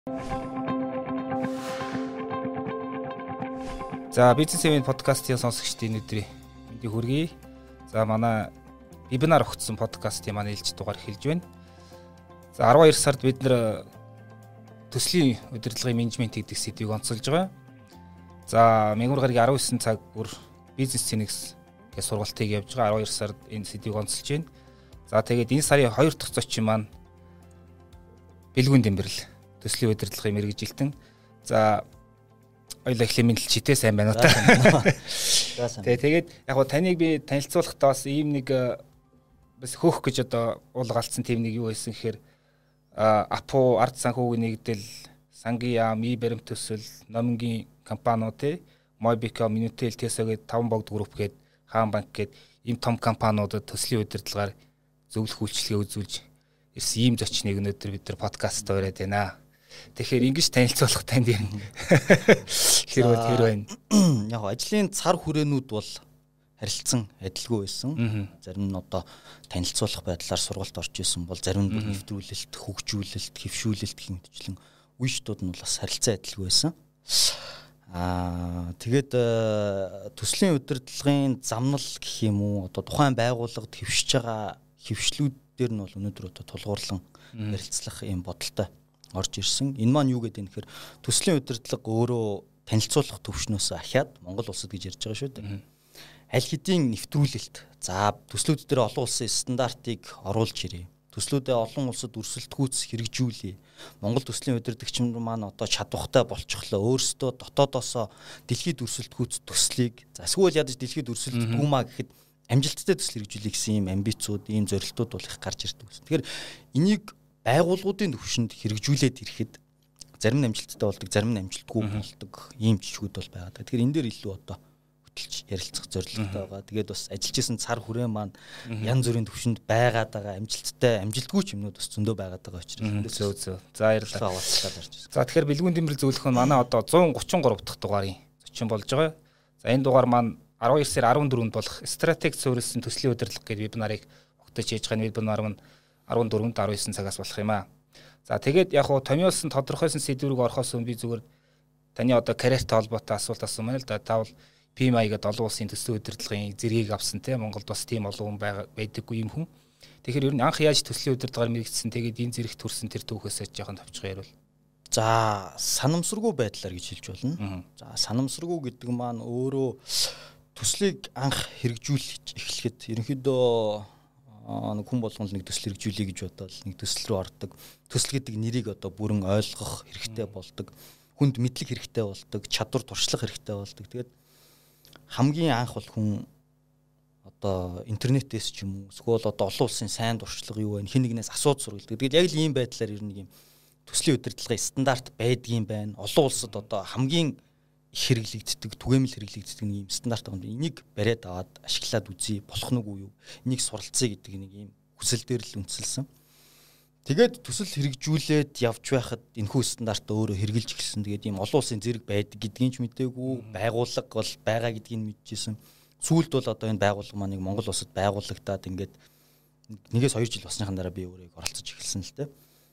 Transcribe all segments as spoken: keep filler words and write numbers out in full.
За бизнес event подкастын сонсогчдын өдрийн мэндийг хүргэе. За манай вебинар өгсөн подкастын манай ээлж дугаар эхэлж байна. За арван хоёр сард бид нэр төслийн удирдлагын менежмент гэдэг сэдвийг онцолж байгаа. За мөнгөр гарагийн арван девять цаг бүр бизнес цэнэгс гэх сургалтыг явьж байгаа. арван хоёр сард энэ сэдвийг онцолж байна. За тэгээд энэ сарын хоёр дахь зочин маань бэлгүүн дэмбэрэл төслийн удирдлагын мэргэжилтэн. За ойлоо эхлээ мэдлэлчтэй сайн байна уу та. Тэгээ тэгээд яг гоо таныг би танилцуулахдаа бас ийм нэг бас хөөх гэж одоо уулгалцсан тийм нэг юу байсан гэхээр Апу ард санхүүгийн нэгдэл, сангийн яам, и баримт төсөл, номингийн компаниуд те, Mobicom, Minutel, Teso гээд таван богд групп гээд Хаан банк гээд ийм том компаниудад төслийн удирдлагаар зөвлөх үйлчилгээ үзүүлж ирсэн ийм зочныг өнөөдөр бид нар подкаст ороод байна. Тэгэхээр ингэж танилцуулах танд юм. Хэрвээ тэр байна. Яг ажлын цар хүрээнүүд бол харилцсан адилгүй байсан. Зарим нь одоо танилцуулах байдлаар сургалт орж исэн бол зарим нь нэвтрүүлэлт, хөгжүүлэлт, хэвшүүлэлт гэх мэтчлэн үештүүд нь бол бас харилцан адилгүй байсан. Аа тэгээд төслийн удирдлагын замнал гэх юм уу одоо тухайн байгууллагад хэвшиж байгаа хэвшлүүд дээр нь бол өнөөдөр одоо тулгуурлан ярилцлах юм бодолтой орж ирсэн. Энэ маань юу гэдэг юм гэхээр төслийн удирдлага өөрөө танилцуулах төвшнөөс ахаад Монгол улсад гэж ярьж байгаа шүү дээ. Аль хэдийн нэвтрүүлэлт. За төслүүд дээр олон улсын стандартыг оруулж ирээ. Төслүүдээ олон улсад өрсөлдөхүүц хэрэгжүүлээ. Монгол төслийн удирдагч маань одоо чадвартай болчихлоо. Өөрсдөө дотоодоосоо дэлхийд өрсөлдөхүүц төслийг за эсвэл ядаж дэлхийд өрсөлдөхгүй маа гэхэд амжилттай төсөл хэрэгжүүлэх гэсэн юм амбицууд, ийм зорилтууд бол их гарч ирдэг гэсэн. Тэгэхээр энийг байгууллагуудын төвшөнд хэрэгжүүлээд ирэхэд зарим нь амжилттай болдог, зарим нь амжилтгүй болдог ийм жишгүүд бол байгаа. Тэгэхээр энэ дээр илүү одоо хөтлж ярилцах зорилготой байгаа. Тэгээд бас ажиллаж исэн цар хүрээн маань янз бүрийн төвшөнд байгаад байгаа, амжилттай, амжилтгүй ч юмнууд бас зөндөө байгаад байгаа учраас зөө зөө. За баярлалаа. За тэгэхээр бэлгүүн дэмбэрэл зөвлөх нь манай одоо one thirty-three дахь дугаарын зочин болж байгаа. За энэ дугаар маань арван хоёр сарын арван дөрөвөнд болох стратеги суурилсан төслийн удирдлага гэдэг вебинарыг огтож хийж байгаа. Вебинар маань арван дөрөвөнд арван девять цагаас болох юм аа. За тэгээд яг хуу томьёолсон тодорхойлсон сэдвүүрийг орохоос өмнө би зүгээр таны одоо карьертай холбоотой асуулт асуусан байна л да. Та бол пи эм ай гэдэг олон улсын төслийн удирдлагын зэргийг авсан те. Монголд бас тийм олон хүн байдаггүй юм хүн. Тэгэхээр ер нь анх яаж төслийн удирдлагаар мэрэгдсэн тэгээд энэ зэрэг төрсэн тэр түүхээс жоохон товчхон ярил. За санамсаргүй байдлаар гэж хэлж болно. За санамсаргүй гэдэг маань өөрөө төслийг анх хэрэгжүүлж эхлэхэд ерөнхийдөө нэг хүн болгоно нэг төсөл хэрэгжүүлэе гэж бодоод нэг төсөл рүү ордог. Төсөл гэдэг нэрийг одоо бүрэн ойлгох хэрэгтэй болдог. Хүнд мэдлэг хэрэгтэй болдог, чадвар туршлага хэрэгтэй болдог. Тэгээд хамгийн анх бол хүн одоо интернетээс ч юм уу эсвэл одоо олон улсын сайн туршлага юу вэ? Хэн нэгнээс асууж сургалдаг. Тэгээд яг л ийм байдлаар ер нь ийм төслийн удирдлагын стандарт байдгийн байна. Олон улсад одоо хамгийн их хэрэглэгддэг, түгээмэл хэрэглэгддэг нэг юм стандарт байгаа юм. Энийг бариад аваад ашиглаад үзье, болох нь үгүй юу? Энийг суралцъя гэдэг нэг юм хүсэл дээр л үндэслэсэн. Тэгээд төсөл хэрэгжүүлээд явж байхад энэхүү стандарт өөрөө хэрэгжилж эхэлсэн. Тэгээд ийм олон улсын зэрэг байдаг гэдгийг ч мэдээгүй, байгууллага бол байгаа гэдгийг мэдчихсэн. Сүүлд бол одоо энэ байгууллага маань нэг Монгол улсад байгуулагдаад ингээд нэгээс хоёр жил болсныхан дараа би өөрөө оролцож эхэлсэн л дээ.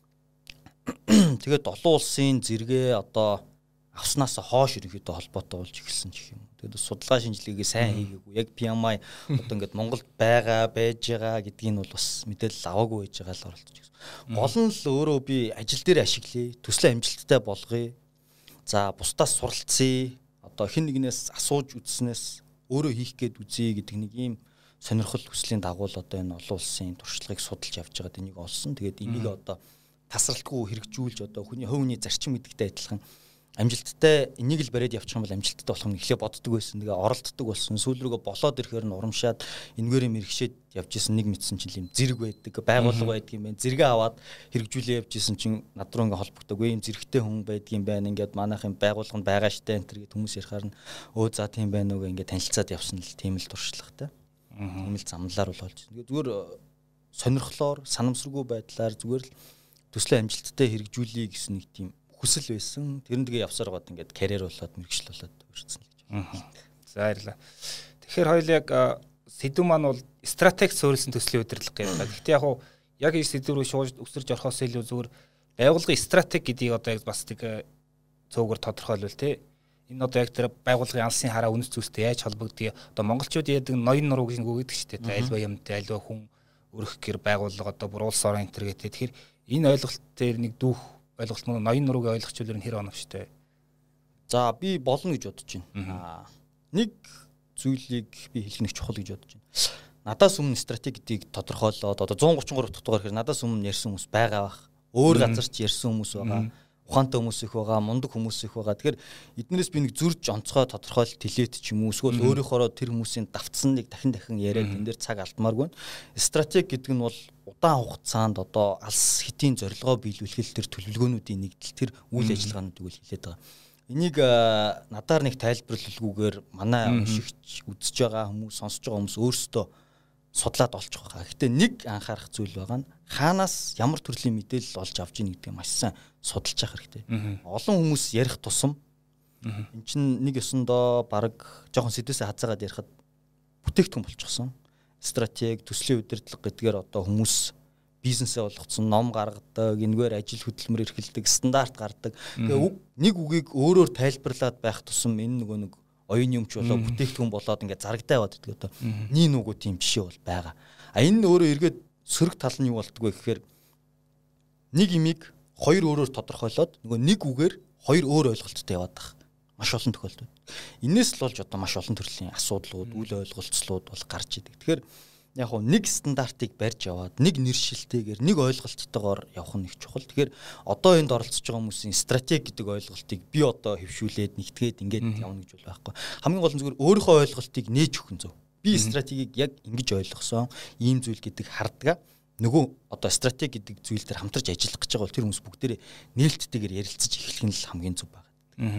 Тэгээд олон улсын зэрэгээ одоо авснаас хойш ерөнхийдөө холбоотой болж эхэлсэн гэх юм. Тэгээд судалгаа шинжилгээгээ сайн хийгээгүй. Яг пи эм ай одоо ингээд Монголд байгаа, байж байгаа гэдгийг нь бол бас мэдээлэл аваагүй байж байгаа л оролцож гэсэн. Гол нь л өөрөө би ажил дээр ашиглая, төслийн амжилттай болгоё. За бусдаас суралцъя. Одоо хэн нэгнээс асууж үзснээс өөрөө хийх гээд үзье гэдэг нэг ийм сонирхол хүслийн дагуу л одоо энэ олон улсын туршлагыг судалж явж байгаад энийг олсон. Тэгээд энийг одоо тасралтгүй хэрэгжүүлж одоо хүний хувийн зарчим гэдэгтэй адилхан амжилттай энийг л бариад явчих юм бол амжилттай болох нь эхлээ боддог байсан. Тэгээ оролддог болсон. Сүүл рүүгээ болоод ирэхээр нь урамшаад энэгээрээ мэрэгшээд явж исэн нэг мэдсэн чинь юм зэрэг байдаг, байгууллага байдаг юм байна. Зэрэгээ аваад хэрэгжүүлээ явж исэн чинь над руу ингээ холбогддог. Үгүй юм зэрэгтэй хүн байдаг юм байна. Ингээд манайхын байгууллага нь байгаа штэ энэ төр гэд хүмүүс ярихаар нь өө за тийм байна уу гэ ингээ танилцаад явсан л тийм л туршлагатай. Тийм л замналаар бол болж. Тэгээ зүгээр сонирхлоор, санамсаргүй байдлаар зүгээр л төслийн амжилттай хэрэгжүүлэе гэсэн нэг тийм хүсэл байсан. Тэр нь тэгээ явсаар гоод ингээд карьер болоод мэргэжил болоод өрсөн л гэж. За баярлалаа. Тэгэхээр хоёул яг сэдв маань бол стратеги суурилсан төслийн удирдлага гэдэг. Гэхдээ яг яг энэ сэдв рүү шууд өсөрж орохоос илүү зүгээр байгууллагын стратеги гэдгийг одоо яг бас нэг цөөгөр тодорхойлвол те энэ одоо яг тэр байгууллагын алсын хараа үнэт зүйлстэй яаж холбогдгийг одоо монголчууд яадаг ноён нуруу гэж үг гэдэг ч те альва юмтай альва хүн өрөх гэр байгууллага одоо бүр улс орон энтер гэдэг. Тэгэхээр энэ ойлголт дээр нэг дүүх ойлголт мөн ноён нурууг ойлгочихвол энэ хэр оновчтой. За би болно гэж бодож байна. Нэг зүйлийг би хэлэх нэг чухал гэж бодож байна. Надаас өмнө стратеги гэдгийг тодорхойлоод одоо one thirty-three дахь дугаар хэрэг надаас өмнө ярьсан хүмүүс байгаа бах. Өөр газар ч ярьсан хүмүүс байгаа. Ухаантай хүмүүс их байгаа, мундаг хүмүүс их байгаа. Тэгэхээр эднээс би нэг зөрж онцгой тодорхойлолт хэлээд ч юм уу эсвэл өөрийнхөө тэр хүмүүсийн давтсныг дахин дахин яриад энэ дээр цаг алдмааргүй. Стратеги гэдэг нь бол удаан хугацаанд одоо алс хэтийн зорилгоо биелүүлэхэд тэр төлөвлөгөөнүүдийн нэгдэл тэр үйл ажиллагаануудыг үл хэлээд байгаа. Энийг надаар нэг тайлбарлалгүйгээр манай уншигч үзэж байгаа хүмүүс, сонсож байгаа хүмүүс өөрсдөө судлаад олчих байгаа. Гэхдээ нэг анхаарах зүйл байгаа нь хаанаас ямар төрлийн мэдээлэл олж авч ийн гэдгийг маш сайн судалж явах хэрэгтэй. Олон хүмүүс ярих тусам эн чинь нэг ёсондоо баг жоохон сэдвээсээ хазаагаад ярихад бүтээгдэхүүн болчихсон. Стратеги, төслийн удирдлага гэдгээр одоо хүмүүс бизнесээ болгоцсон, ном гаргадаг, энэгээр ажил хөдөлмөр эрхэлдэг, стандарт гаргадаг. Тэгээ нэг үгийг өөрөөр тайлбарлаад байх тусам энэ нөгөө нэг оюун юмч болоо бүтээгдэхүүн болоод ингээд зарагтай яваад гэдэг одоо нийн нүгүү тийм жишээ бол байгаа. А энэ өөрөө эргээд сөрөг тал нь юу болдгоо гэхээр нэг имийг хоёр өөрөөр тодорхойлоод нөгөө нэг үгээр хоёр өөр ойлголттой яваад байгаа. Маш олон тохиолдол. Инээс л болж одоо маш олон төрлийн асуудлууд, үйл ойлголцлууд бол гарч идэг. Тэгэхээр яг хөө нэг стандартыг барьж яваад нэг нэршилтэйгээр нэг ойлголттойгоор явах нь их чухал. Тэгэхээр одоо энд оролцож байгаа хүмүүсийн стратеги гэдэг ойлголтыг би одоо хэвшүүлээд нэгтгээд ингээд явна гэж бол байхгүй. Хамгийн гол нь зүгээр өөрийнхөө ойлголтыг нээж өгөх нь зөв. Би стратегийг яг ингэж ойлгосон, ийм зүйл гэдэг хардгаа нөгөө одоо стратеги гэдэг зүйл дээр хамтарч ажиллах гэж байгаа бол тэр хүмүүс бүгдээрээ нээлттэйгээр ярилцаж эхлэх нь л хамгийн зөв байна.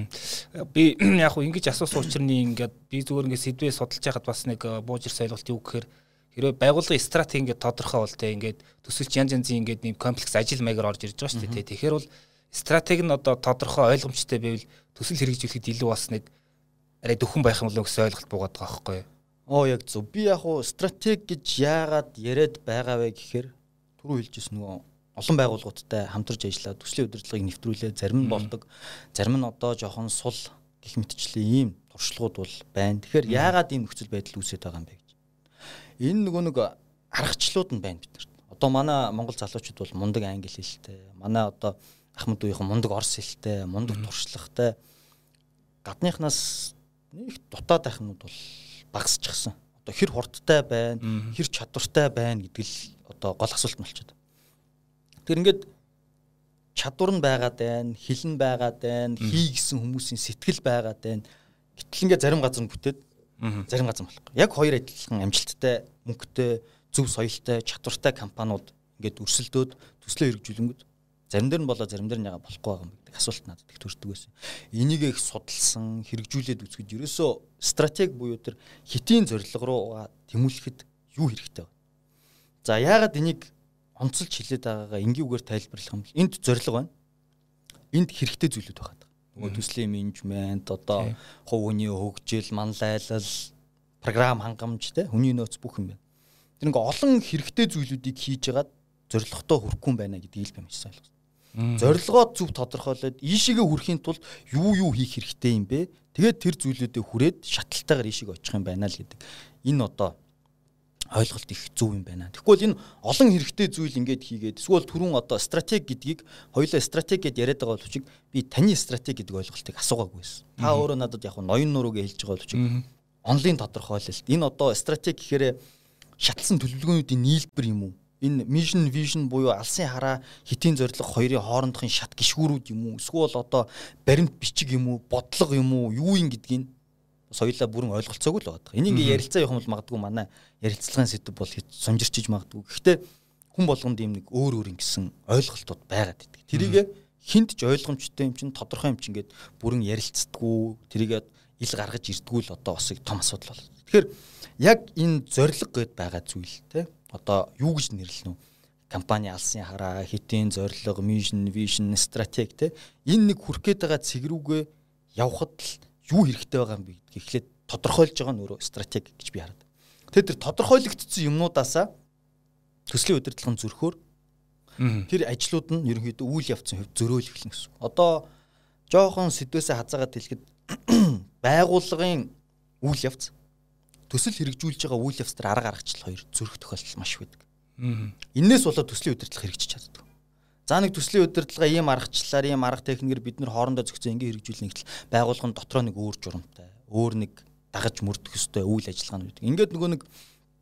Би яг хөө ингэж асуусан учраас ингээд би зүгээр ингээд сэдвээ судалж байхад бас нэг буужирс ойлголт юу гэхээр хэрвээ байгууллагын стратеги ингээд тодорхой бол тэ ингээд төсөлч янз янзын ингээд нэм комплекс ажил маягаар орж ирж байгаа шүү дээ. Тэгэхээр бол стратеги нь одоо тодорхой ойлгомжтой байвал төсөл хэрэгжүүлэхэд илүү бас нэг арай дөхөн байх юм болов гэсэн ойлголт буугаад байгаа байхгүй юу? Оо яг зөв. Би яг хуу стратеги гэж яагаад яриад байгаа вэ гэхээр түрүү хэлжсэн нөгөө олон байгууллагуудтай хамтарч ажиллаад төслийн удирдлагыг нэвтрүүлээ. Зарим нь болдог, зарим нь одоо жоохон сул гэх мэтчлэн ийм туршлагууд бол байна. Тэгэхээр яагаад ийм нөхцөл байдал үүсэж байгаа юм бэ гэж. Энэ нөгөө нэг аргачлалууд нь байна биднэрт. Одоо манай монгол залуучууд бол мундаг англи хэлтэй, манай одоо ахмад уухийн мундаг орос хэлтэй, мундаг туршлагатай. Гадныхнаас нэг дутаад байх юмуд бол багасчихсан. Одоо хэр хурдтай байна, хэр чадвартай байна гэдэг л одоо гол асуулт нь болчиход. Тэр ингээд чадвар нь байгаад байна, хэл нь байгаад байна, хий гэсэн хүмүүсийн сэтгэл байгаад байна. Гэтэл ингээд зарим газар нь бүтээд зарим газар болохгүй. Яг хоёр адилхан амжилттай, мөнгөтэй, зөв соёлтой, чадвартай компаниуд ингээд өрсөлдөөд төслөө хэрэгжүүлэнгүүт зарим дээр нь болоо зарим дээр нь яга болохгүй байгаа юм гэдэг асуулт надад их төрдөг байсан. Энийг их судалсан, хэрэгжүүлээд үзэхэд ерөөсөө стратеги буюу тэр хэтийн зорилго руу тэмүүлэхэд юу хэрэгтэй вэ? За яагаад энийг онцолж хэлээд байгаагаа энгийн үгээр тайлбарлах юм бол энд зорилго байна. Энд хэрэгтэй зүйлүүд байгаа. Нөгөө төслийн менежмент, одоо хувь хүний хөгжил, манлайлал, програм хангамж те хүний нөөц бүх юм байна. Тэр ингээ олон хэрэгтэй зүйлүүдийг хийж ягаад зорилготой хүрэхгүй юм байна гэдгийг л би маш сайн ойлгосон. Зорилгоо зөв тодорхойлоод ийшээгээ хүрэхийн тулд юу юу хийх хэрэгтэй юм бэ? Тэгээд тэр зүйлүүдэд хүрээд шатлалтайгаар ийшээгээ очих юм байна л гэдэг. Энэ одоо ойлголт их зөв юм байна. Тэгэхгүй энэ олон хэрэгтэй зүйл ингээд хийгээд эсвэл түрүүн одоо стратеги гэдгийг хоёулаа стратеги гэдээ яриад байгаа боловч би таны стратеги гэдэг ойлголтыг асуугаагүй байсан. Та өөрөө надад яг ноён нурууг хэлж байгаа боловч онлайн тодорхойлолт. Энэ одоо стратеги гэхээр шатлсан төлөвлөгөөнүүдийн нийлбэр юм уу? Энэ mission vision буюу алсын хараа хэтийн зорилго хоёрын хоорондохын шат гişгүүрүүд юм уу? Эсвэл одоо баримт бичиг юм уу? Бодлого юм уу? Юу юм гэдгийг соёлоо бүрэн ойлголцоогүй л байгаа. Энийг ингээ ярилцаа явах юм бол магадгүй манай ярилцлагын сэдв бол сонжирчиж магадгүй. Гэхдээ хүн болгонд ийм нэг өөр өөр ингэсэн ойлголтууд байгаад байдаг. Тэрийг хинт ч ойлгомжтой юм чинь тодорхой юм чинь ингээд бүрэн ярилцдаггүй, тэрийг ил гаргаж ирдгүү л одоо бас их том асуудал бол. Тэгэхээр яг энэ зорилго гэд байгаа зүйл те одоо юу гэж нэрлэнэ вэ? Компани алсын хараа, хэтийн зорилго, mission, vision, стратеги те энэ нэг хүрх гээд байгаа цэг рүүгээ явхад л юу хэрэгтэй байгаа юм бэ гэдгийг эхлээд тодорхойлж байгаа нь өөрөө стратеги гэж би хараад. Тэгээд тэр тодорхойлогдсон юмнуудаасаа төслийн удирдлагын зүрхөөр Тэр ажлууд нь ерөнхийдөө үйл явцын хувьд зөрөөл эхэлнэ гэсэн. Одоо жоохон сэдвээсээ хазаагаад хэлэхэд байгууллагын үйл явц төсөл хэрэгжүүлж байгаа үйл явц дээр арга аргачлал хоёр зөрөх тохиолдол маш байдаг. Иннээс болоод төслийн удирдлага хэрэгжиж чаддаг. За нэг төслийн удирдлага ийм аргачлалаар ийм арга техникээр бид нэр хоорондоо зохицсон ингэ хэрэгжүүлнэ гэтэл байгууллагын дотроо нэг өөр журамтай, өөр нэг дагаж мөрдөх ёстой үйл ажиллагааны байдаг. Ингээд нөгөө нэг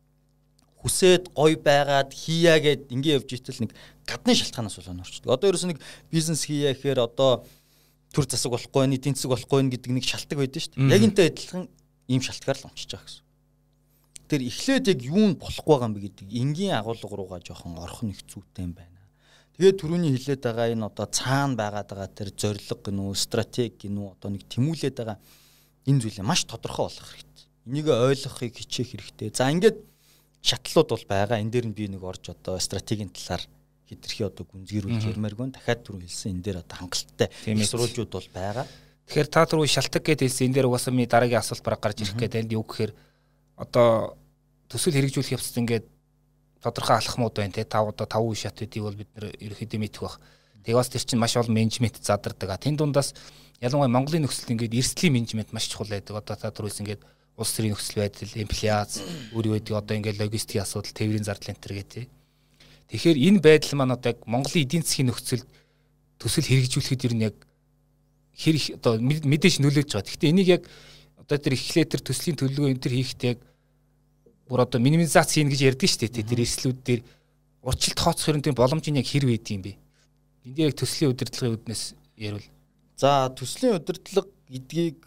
хүсээд гой байгаад хийя гэд ингэ явж итэл нэг гадны шалтгаанаас болоод орчдөг. Одоо ерөөс нэг бизнес хийя гэхээр одоо төр засаг болохгүй, нийтийн засаг болохгүй гэдэг нэг шалтгаан байдаг шүү дээ. Яг энтэй адилхан ийм шалтгаан л онцож байгаа гэсэн. Тэр эхлээд яг юу нь болохгүй байгаа юм бэ гэдэг энгийн агуулга руугаа жоохон орох нэг зүйтэй юм байна. Тэгээд түрүүний хэлээд байгаа энэ одоо цаана байгаад байгаа тэр зорилго гинүү, стратеги гинүү одоо нэг тэмүүлээд байгаа энэ зүйлээ маш тодорхой болгох хэрэгтэй. Энийг ойлгохыг хичээх хэрэгтэй. За ингээд шатлууд бол байгаа. Энэ дээр нь би нэг орж одоо стратегийн талаар хэтэрхий одоо гүнзгийрүүлж ярмааргүй. Дахиад түрүү хэлсэн энэ дээр одоо хангалттай сурвалжууд бол байгаа. Тэгэхээр та түрүү шалтгаан гэдээ хэлсэн энэ дээр угаасаа ми дараагийн асуулт бараг гарч ирэх гэдэг юу гэхээр одоо төсөл хэрэгжүүлэх явцад ингээд тодорхой алхмууд байна те тав одоо тав үе шат гэдгийг бол бид нэр ерөөхдөө мэдэх бах. Тэгээ бас тэр чинь маш олон менежмент задардаг. Тэн дундаас ялангуяа Монголын нөхцөлд ингээд эрсдлийн менежмент маш чухал байдаг. Одоо та түрүүс ингээд улс төрийн нөхцөл байдал, инфляц, өөр юу гэдэг одоо ингээд логистикийн асуудал, тээврийн зардал энэ төр гэдэг. Тэгэхээр энэ байдал маань одоо яг Монголын эдийн засгийн нөхцөлд төсөл хэрэгжүүлэхэд ер нь яг хэр их одоо мэдээж нөлөөж байгаа. Гэхдээ энийг яг одоо тэр эхлээд тэр төслийн төлөвлөгөө энэ төр хийхдээ яг бүр одоо минимизац хийн гэж ярьдэн шүү дээ. Тэр эрсдлүүд дээр урьдчилт тооцох хэрэг тийм боломж нь яг хэр байд юм бэ? Энд дээр яг төслийн удирдлагын үүднээс ярил. За төслийн удирдлага гэдгийг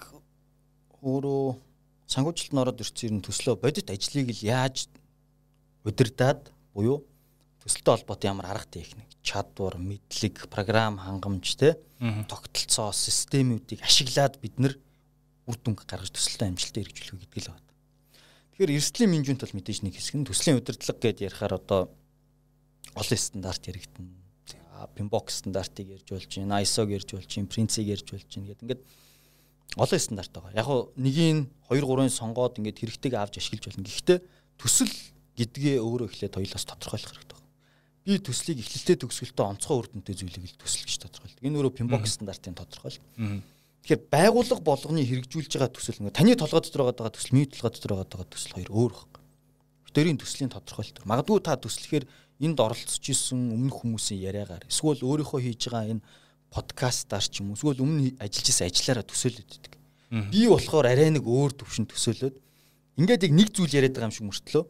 өөрөө санхүүжилтанд ороод ирсэн юм төслөө бодит ажлыг л яаж удирдаад буюу төсөлтэй холбоотой ямар арга техник, чадвар, мэдлэг, програм хангамж те тогтолцоо, системүүдийг ашиглаад бид нар үр дүнг гаргаж төсөлтөө амжилттай хэрэгжүүлэх гэдэг л байна. Тэгэхээр эрсдлийн менежмент бол мэдээж нэг хэсэг нь төслийн удирдлага гэдээ ярихаар одоо олон стандарт яригдана. Pinbox стандартыг ярьж болж байна, ай эс о-г ярьж болж байна, Prince-ийг ярьж болж байна гэдэг ингээд олон стандарт байгаа. Яг нь нэгийг хоёр гурван сонгоод ингээд хэрэгтэйг авч ашиглаж болно. Гэхдээ төсөл гэдгээ өөрөө эхлээд хоёулаас тодорхойлох хэрэгтэй байна. Би төслийг эхлэлтэй төгсгөлтөө онцгой үр дүнтэй зүйлийг л төсөл гэж тодорхойлдог. Энэ өөрөө Pinbox стандартын тодорхойлол. Тэгэхээр байгууллага болгоны хэрэгжүүлж байгаа төсөл нэг таны толгой дотор байгаа төсөл, миний толгой дотор байгаа төсөл хоёр өөр байна. Бүтээрийн төслийн тодорхойлолт. Магадгүй та төслөхээр энд оролцож исэн өмнөх хүмүүсийн яриагаар эсвэл өөрийнхөө хийж байгаа энэ подкастаар ч юм уу эсвэл өмнө ажиллаж исэн ажиллаараа төсөөлөд байдаг. Би болохоор арай нэг өөр төвшин төсөөлөд ингээд яг нэг зүйл яриад байгаа юм шиг мөртлөө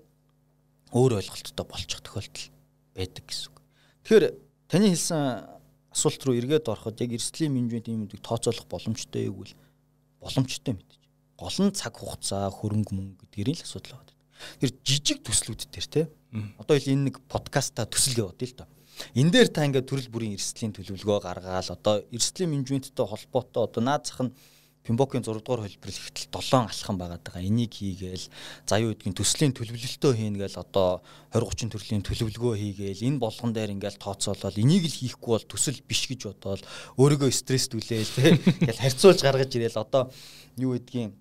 өөр ойлголттой болчих тохиолдол байдаг гэсэн үг. Тэгэхээр таны хэлсэн асуулт руу эргээд ороход яг эрсдлийн менежмент юм үүдэг тооцоолох боломжтой гэвэл боломжтой мэдээж. Гол нь цаг хугацаа, хөрөнгө мөнгө гэдгэрийн л асуудал байна. Тэр жижиг төслүүд дээр те. Одоо ил энэ нэг подкаста төсөл яваад л доо. Энэ дээр та ингээд төрөл бүрийн эрсдлийн төлөвлөгөө гаргаал одоо эрсдлийн менежменттэй холбоотой одоо наад зах нь Pinbox-ийн зураг дугаар хэлбэр ихтэл долоон алхам байгаад байгаа. Энийг хийгээл за юу гэдгийг төслийн төлөвлөлтөө хийнэ гээл одоо двадцать тридцать төрлийн төлөвлөгөө хийгээл энэ болгон дээр ингээл тооцоолол энийг л хийхгүй бол төсөл биш гэж бодоол өөрийгөө стресстүүлээл тэгэл харьцуулж гаргаж ирээл одоо юу гэдгийг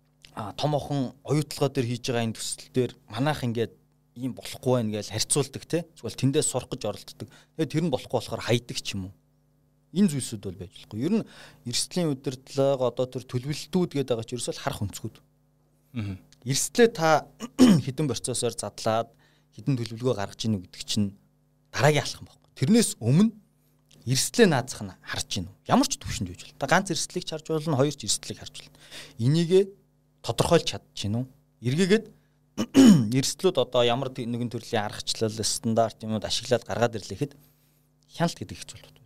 а томоохон оюутлагаа дээр хийж байгаа энэ төсөл дээр манайх ингээд ийм болохгүй байх гээл харьцуулдаг те эсвэл тэндээс сурах гэж оролддог. Тэгээд тэр нь болохгүй болохоор хайдаг ч юм уу. Энэ зүйлсүүд бол байж болохгүй. Ер нь эрсдлийн удирдлага одоо тэр төлөвлөлтүүд гэдэг байгаа ч ерөөсөө харах өнцгүүд. Аа. Эрсдлээ та хідэн процессор задлаад хідэн төлөвлөгөө гаргаж ийн гэдэг чинь дараагийн алхам байхгүй. Тэрнээс өмнө эрсдлээ наазах нь харж ийн. Ямар ч төвшөнд байж болно. Та ганц эрсдлийг харж болно, хоёр ч эрсдлийг харж болно. Энийгээ тодорхойлж чадчихна уу? Эргээгээд эрсдлүүд одоо ямар нэгэн төрлийн аргачлал, стандарт юмуд ашиглаад гаргаад ирлэхэд хяналт гэдэг хэцүү бол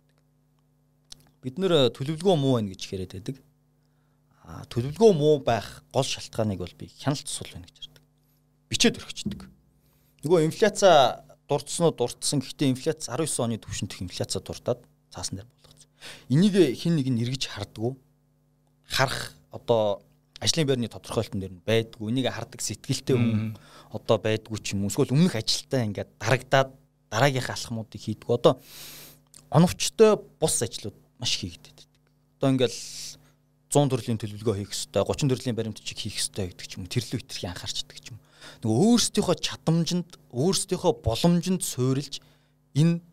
бид нэр төлөвлөгөө муу байна гэж яриад байдаг. Аа төлөвлөгөө муу байх гол шалтгааныг бол би хяналт сул байна гэж ярьдаг. Бичээд өргөчдөг. Нөгөө инфляци дурдсан уу дурдсан. Гэхдээ инфляци араван девять оны түвшинт инфляци дурдаад цаасан дээр болгоцсон. Энийг хин нэг нь эргэж хардггүй. Харах одоо ажлын байрны тодорхойлолтон дээр нь байдгүй. Энийг хардаг сэтгэлтэй хүн одоо байдгүй ч юм уу. Эсвэл өмнөх ажилтаа ингээд дарагдаад дараагийнхаа алхмуудыг хийдэг. Одоо оновчтой бус ажлууд маш хийгдэдэг. Одоо ингээл цуун төрлийн төлөвлөгөө хийх хэрэгтэй, гучин төрлийн баримтчиг хийх хэрэгтэй гэдэг ч юм уу. Тэрлүү хитрхи анхаарчдаг ч юм уу. Нөгөө өөрсдийнхөө чадамжинд, өөрсдийнхөө боломжинд суурилж энэ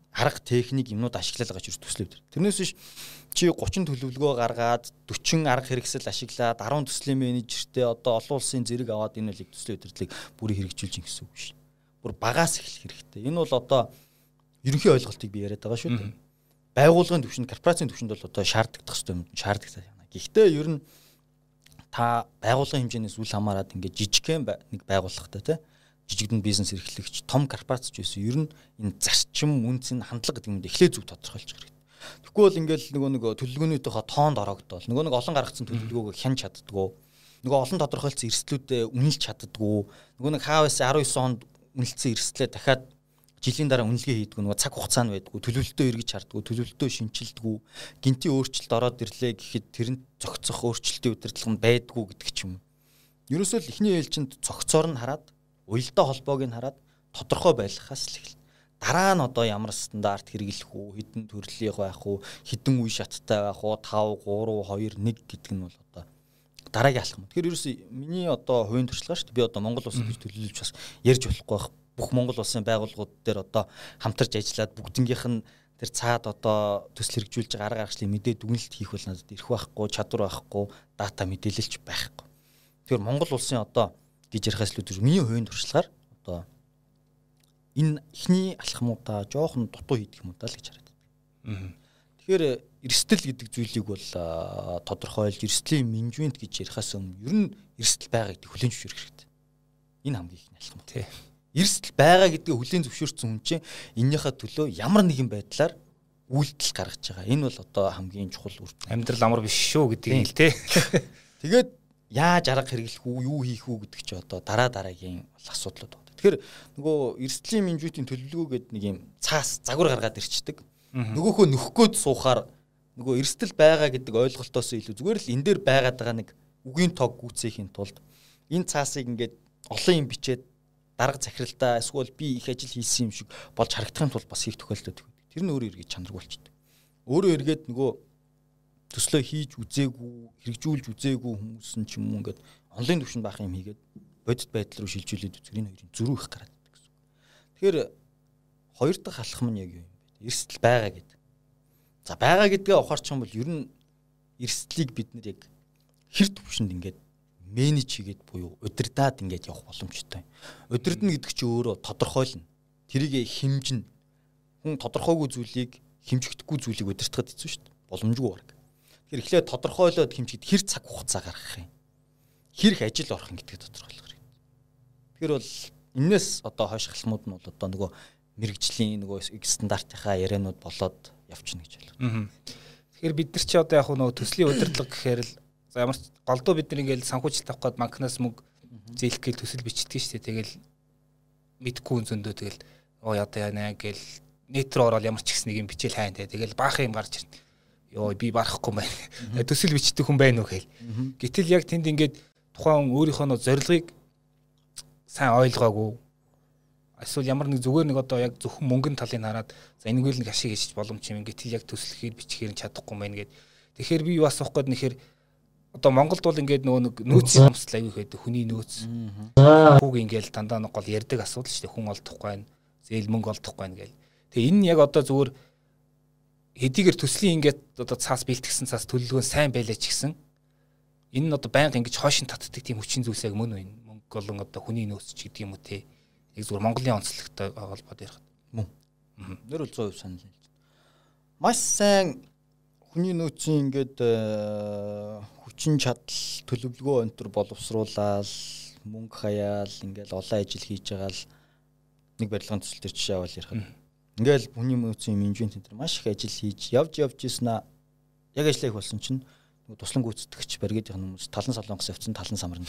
арга техник юмнууд ашиглаад байгаа ч төслөө өдр. Тэрнээс биш чи гучин төлөвлөгөө гаргаад forty арга хэрэгсэл ашиглаад ten төслийн менежертэй одоо олон улсын зэрэг аваад энэ үеийг төслийн удирдлыг бүрий хэрэгжүүлж ин гэсэн үг биш. Бүр багаас эхлэх хэрэгтэй. Энэ бол одоо ерөнхий ойлголтыг би яриад байгаа шүү дээ. Байгууллагын түвшинд, корпорацийн түвшинд бол одоо шаарддаг хэвээр юм шаарддаг байна. Гэхдээ ер нь та байгууллагын хэмжээнээс үл хамааран ингээд жижигхэн нэг байгууллагатай тий жижигдэн бизнес эрхлэгч том корпорац ч байсан ер нь энэ зарчим үнцэн хандлага гэдэг юм эхлээ зөв тодорхойлж хэрэгтэй. Тэгэхгүй бол ингээл нөгөө нэг төлөвлөгөөнийхөө тоонд ороогдвол нөгөө нэг олон гаргацсан төлөвлөгөөгөө хянж чаддгүй нөгөө олон тодорхойлцсон эрсдлүүдэд үнэлж чаддгүй нөгөө нэг хаавс nineteen онд үнэлсэн эрсдлээ дахиад жилийн дараа үнэлгээ хийдгүү нөгөө цаг хугацаа нь байдгүй төлөвлөлтөө эргэж хардггүй төлөвлөлтөө шинчилдэггүй гинтийн өөрчлөлт ороод ирлээ гэхэд тэрэнд зохицох өөрчлөлтийн удирдлага нь байдгүй гэдэг ч юм. Ерөөсөө л эхний ээлжинд цогцоор нь хараад уялдаа холбоог нь хараад тодорхой байлгахаас л эхэлнэ. Дараа нь одоо ямар стандарт хэрэглэх үү, хэдэн төрлийн байх уу, хэдэн үе шаттай байх уу, five, three, two, one гэдэг нь бол одоо дараагийн алхам. Тэгэхээр ерөөсөө миний одоо хувийн туршлага шүү дээ. Би одоо Монгол улсад гэж төлөвлөж бас ярьж болохгүй байх. Бүх Монгол улсын байгууллагууд дээр одоо хамтарч ажиллаад бүгднгийнх нь тэр цаад одоо төсөл хэрэгжүүлж байгаа арга аргачлалын мэдээ дүгнэлт хийх бол надад ирэх байхгүй, чадвар байхгүй, дата мэдээлэлч байхгүй. Тэгэхээр Монгол улсын одоо гэж ярихаас л үгүй миний хувийн туршлагаар одоо энэ ихний алхмуудаа жоохон дутуу хийдэг юм уу даа л гэж хараад байна. Тэгэхээр эрсдэл гэдэг зүйлийг бол тодорхойлж эрсдлийн менежмент гэж ярихаас өмнө ер нь эрсдэл байгаа гэдэг хүлээн зөвшөөрөх хэрэгтэй. Энэ хамгийн ихний алхам тий. Эрсдэл байгаа гэдгийг хүлээн зөвшөөрсөн хүн чинь эннийхээ төлөө ямар нэгэн байдлаар үйлдэл гаргаж байгаа. Энэ бол одоо хамгийн чухал үр дүн. Амьдрал амар биш шүү гэдгийг л тий. Тэгээд яаж арга хэрэглэх үү, юу хийх үү гэдэг чи одоо дараа дараагийн асуудлууд байна. Тэгэхээр нөгөө эрсдлийн менежментийн төлөвлөгөө гэдэг нэг юм цаас загвар гаргаад ирчдэг. Нөгөөхөө нөхгөөд суухаар нөгөө эрсдэл байгаа гэдэг ойлголтоос илүү зүгээр л энэ дээр байгаад байгаа нэг үгийн тог гүйцээхийн тулд энэ цаасыг ингээд олон юм бичээд дарга захиралдаа эсвэл би их ажил хийсэн юм шиг болж харагдахын тулд бас хийх тохиолдол байдаг. Тэр нь өөрөө эргээд чанаргүй болчихдог. Өөрөө эргээд нөгөө төслөө хийж үзээгүй, хэрэгжүүлж үзээгүй хүмүүс нь ч юм уу ингээд онлайн түвшинд байх юм хийгээд бодит байдал руу шилжүүлээд үзэх энэ хоёрын зөрүү их гараад байдаг гэсэн. Тэгэхээр хоёр дахь алхам нь яг юу юм бэ? Эрсдэл байгаа гэдэг. За байгаа гэдгээ ухаарчих юм бол ер нь эрсдлийг бид нэр яг хэр түвшинд ингээд менеж хийгээд буюу удирдаад ингээд явах боломжтой. Удирдна гэдэг чинь өөрөө тодорхойлно. Тэрийг хэмжинэ. Хүн тодорхойгүй зүйлийг хэмжигдэхгүй зүйлийг удирдахад хэцүү шүү дээ. Боломжгүй баг. Тэгэхээр эхлээд тодорхойлоод хэмжихэд хэр цаг хугацаа гаргах юм. Хэр их ажил орох юм гэдгийг тодорхойлох хэрэгтэй. Тэгэхээр бол энэс одоо хойш халмууд нь бол одоо нөгөө мэрэгжлийн нөгөө стандартынхаа ярианууд болоод явчихна гэж байна. Тэгэхээр бид нар чи одоо яг нөгөө төслийн удирдлага гэхээр л за ямар ч голдуу бид нар ингээл санхүүжилт авах гээд банкнаас мөнгө зээлэх гээл төсөл бичдэг шүү дээ. Тэгэл мэдхгүй хүн зөндөө тэгэл оо ядаа яана гээл нэт рүү ороод ямар ч ихс нэг юм бичээл хайна те. Тэгэл баах юм гарч ирнэ. Йоо би барахгүй юм байна. Төсөл бичдэг хүн байна уу гээл. Гэтэл яг тэнд ингээд тухайн өөрийнхөө нөө зорилгыг сайн ойлгоогүй. Эсвэл ямар нэг зүгээр нэг одоо яг зөвхөн мөнгөний талыг хараад за энэгээр нэг ашиг хийж боломж юм. Гэтэл яг төслөхээр бичгээр нь чадахгүй юм байна гэд. Тэгэхээр би юу асуух гээд нэхэр одоо Монголд бол ингээд нөгөө нэг нөөцийн хамсал аягүй байдаг. Хүний нөөц. Хүүг ингээд дандаа нэг гол ярддаг асуудал шүү дээ. Хүн олдохгүй байна. Зээл мөнгө олдохгүй байна гээл. Тэгээ энэ яг одоо зүгээр хэдийгээр төслийн ингээд одоо цаас бэлтгэсэн цаас төлөвлөгөө сайн байлаа ч гэсэн энэ нь одоо байнга ингэж хойшин татдаг тийм хүчин зүйлс яг мөн байна. Мөнгө болон одоо хүний нөөц ч гэдэг юм уу те. Яг зүгээр Монголын онцлогтой холбоод ярих. Мөн. Нэр бол one hundred percent санал хэлж байна. Маш сайн хүний нөөцийн ингээд хүчин чадал төлөвлөгөө өнтер боловсруулаад мөнгө хаяал ингээд олон ажил хийж байгаа л нэг барилгын төсөл төр жишээ аваад ярих. Ингээл хүний нөөцийн менежмент энэ маш их ажил хийж явж явж ийснэ. Яг ажиллах болсон чинь туслан гүйцэтгэгч баригдах хүмүүс талан солонгос явцсан талан самарна.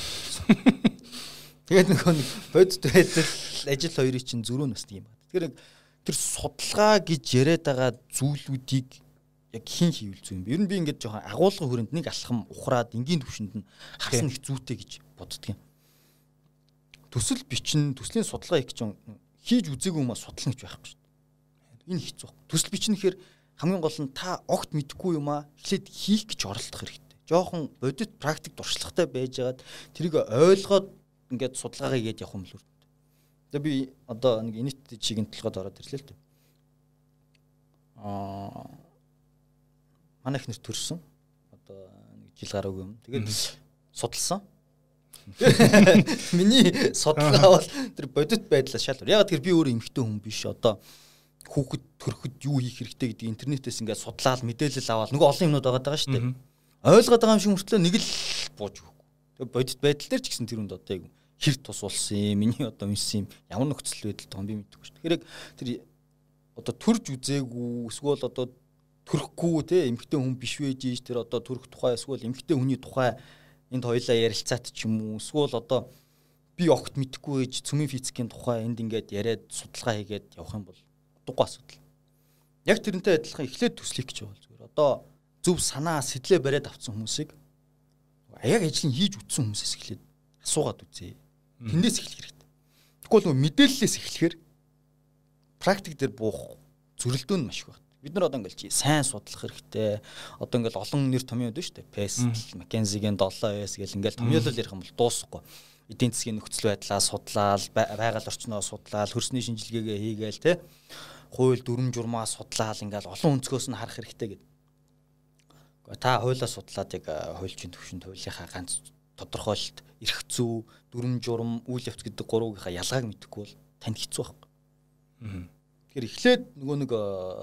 Тэгээд нөгөө нэг бодит байдал ажил хоёрын чинь зөрүү насдаг юм байна. Тэгэхээр тэр судалгаа гэж яриад байгаа зүйлүүдийг яг хин хийвэл зүй юм. Ер нь би ингээд жоохон агуулгын хүрээнд нэг алхам ухраад энгийн төвшөнд нь харсан их зүйтэй гэж боддөг юм. Төсөл бичнэ, төслийн судалгаа их ч хийж үзээгүй юм а судлах гэж байхгүй шүү дээ. Энэ хэцүү. Төсөл бичнэ гэхээр хамгийн гол нь та огт мэдэхгүй юм а эхлээд хийх гэж оролдох хэрэгтэй. Жоохон бодит практик туршлагатай байжгаад тэрийг ойлгоод ингээд судалгаагаа хийгээд явах юм л үү. Тэгээ би одоо нэг инит чигийн толгойд ороод ирлээ л дээ. Аа манай их нэр төрсөн. Одоо нэг жил гараагүй юм. Тэгээд судалсан. Миний судалгаа бол тэр бодит байдлаас шалтгаалж. Яг тэр би өөрөө эмэгтэй хүн биш. Одоо хүүхэд төрөхөд юу хийх хэрэгтэй гэдэг интернетээс ингээд судлаад мэдээлэл аваад нөгөө олон юмнууд байгаа даа шүү дээ. Ойлгоод байгаа юм шиг мөртлөө нэг л бууж өгөхгүй. Тэгээ бодит байдал дээр ч гэсэн тэр үнд одоо яг хэр тус улсан юм, миний одоо үнсэн юм, ямар нөхцөл байдал тоо би мэдэхгүй шүү. Тэгэхээр тэр одоо төрж үзээгүй эсвэл одоо төрөхгүй те эмэгтэй хүн биш байж ийж тэр одоо төрөх тухай эсвэл эмэгтэй хүний тухай энд хоёлаа ярилцаат ч юм уу эсвэл одоо би огт мэдэхгүй байж цөмийн физикийн тухай энд ингээд яриад судалгаа хийгээд явах юм бол утгагүй асуудал. Яг тэрнтэй адилхан эхлээд төслөх гэж байгаа зүгээр. Одоо зөв санаа сэтлээ бариад авсан хүмүүсийг яг ажлыг хийж үтсэн хүмүүсээс эхлээд асуугаад үзье. Тэндээс эхлэх хэрэгтэй. Тэгвэл нөгөө мэдээллээс эхлэхээр практик дээр буух зөрөлдөө нь маш их байна. Бид нар одоо ингээл чи сайн судлах хэрэгтэй. Одоо ингээл олон нэр томьёод байна шүү дээ. Pestel, McKinsey-гийн seven S гэл ингээл томьёолол ярих юм бол дуусахгүй. Эдийн засгийн нөхцөл байдлаа судлаад, байгаль орчноо судлаад, хөрсний шинжилгээгээ хийгээл те. Хууль дүрм журмаа судлаад ингээл олон өнцгөөс нь харах хэрэгтэй гэдэг. Гэхдээ та хуулиа судлаад яг хуульчийн төвшөнд хуулийнхаа ганц тодорхойлолт, эрх зүй, дүрм журм, үйл явц гэдэг гурвынхаа ялгааг мэдэхгүй бол танд хэцүү байхгүй. Тэгэхээр эхлээд нөгөө нэг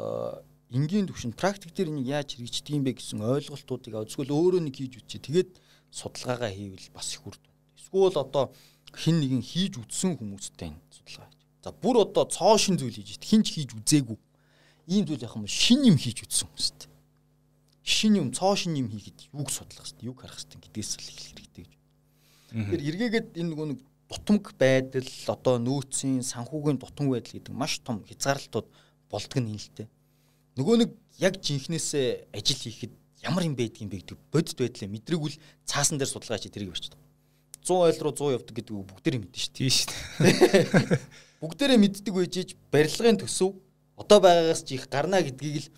энгийн төвшөнд практик дээр энийг яаж хэрэгждэг юм бэ гэсэн ойлголтуудыг авзгөл өөрөө нэг хийж үзье. Тэгээд судалгаагаа хийвэл бас их үрд. Эсвэл одоо хин нэгэн хийж үтсэн хүмүүстэй судалгаа хийж. За бүр одоо цоо шин зүйл хийж идэх хинч хийж үзээгүй. Ийм зүйл яхам шин юм хийж үтсэн хүмүүстэй. Шин юм цоо шин юм хийхэд юуг судлах хэрэгтэй, юуг харах хэрэгтэй гэдгээс л эхлэх хэрэгтэй гэж. Тэгэхээр эргээгээд энэ нөгөө нэг дутмаг байдал одоо нөөцийн санхүүгийн дутмаг байдал гэдэг маш том хязгаарлалтууд болдго нь л дээ. Нөгөө нэг яг жинхнээсээ ажил хийхэд ямар юм байдгийг бэ гэдэг бодит байдлаа мэдрэгүүл цаасан дээр судалгаа хийж тэрийг барьчихдаг. one hundred ойл руу one hundred явдаг гэдэг бүгдээрээ мэднэ шүү дээ. Тийм шүү дээ. Бүгдээрээ мэддэг байжээж барилгын төсөв одоо байгаагаас ч их гарна гэдгийг л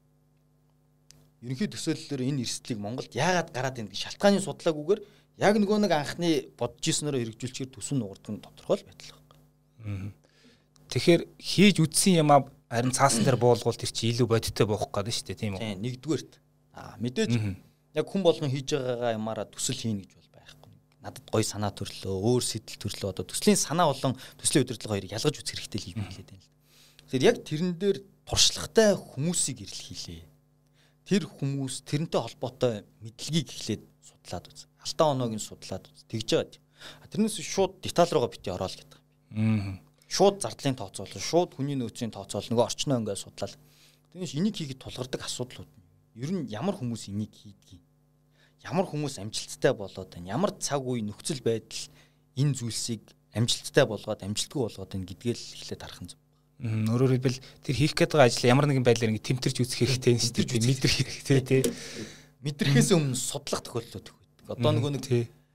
ерөнхий төсөөллөөр энэ эрсдлийг Монголд яагаад гараад байна гэх шалтгааны судлаагүйгээр яг нөгөө нэг анхны бодож ирснээрээ хэрэгжүүлчихээр төсөн нугардаг нь тодорхой л байдал байна. Тэгэхээр хийж үтсэн юм а харин цаасан дээр буулгуул тэр чи илүү бодиттой бохох гэдэг шүү дээ тийм үү? Тийм нэгдүгээрт. Аа мэдээж яг хүн болгон хийж байгаагаа ямаараа төсөл хийнэ гэж бол байхгүй. Надад гоё санаа төрлөө, өөр сэтэл төрлөө одоо төслийн санаа болон төслийн удирдлага хоёрыг ялгаж үзэх хэрэгтэй л юм хэлээд байна л. Тэгэхээр яг тэрэн дээр туршлагатай хүмүүсийг ирэл хийлээ. Тэр хүмүүс тэрнтэй холбоотой мэдлэгийг эхлээд судлаад үз. Алтан оноогийн судлаад үз. Тэгж байгаа. Тэрнээс шууд деталь руугаа бити ороод гэдэг юм. Аа. Шууд зардлын тооцоолол, шууд хүний нөөцийн тооцоолол нөгөө орчноо ингээд судлаад. Тэгээс энийг хийгээд тулгардаг асуудлууд. Ер нь ямар хүмүүс энийг хийдгийг. Ямар хүмүүс амжилттай болоод байна. Ямар цаг үе нөхцөл байдал энэ зүйлсийг амжилттай болгоод амжилтгүй болгоод байна гэдгээл эхлээд харах нь зөв. Өөрөөр хэлбэл тэр хийх гээд байгаа ажил ямар нэгэн байдлаар ингэ тэмтэрч үзэх хэрэгтэй юм шүү дээ. Мэдрэх хэрэгтэй тий. Мэдрэхээс өмнө судлах тохиолдлууд их байдаг. Одоо нөгөө нэг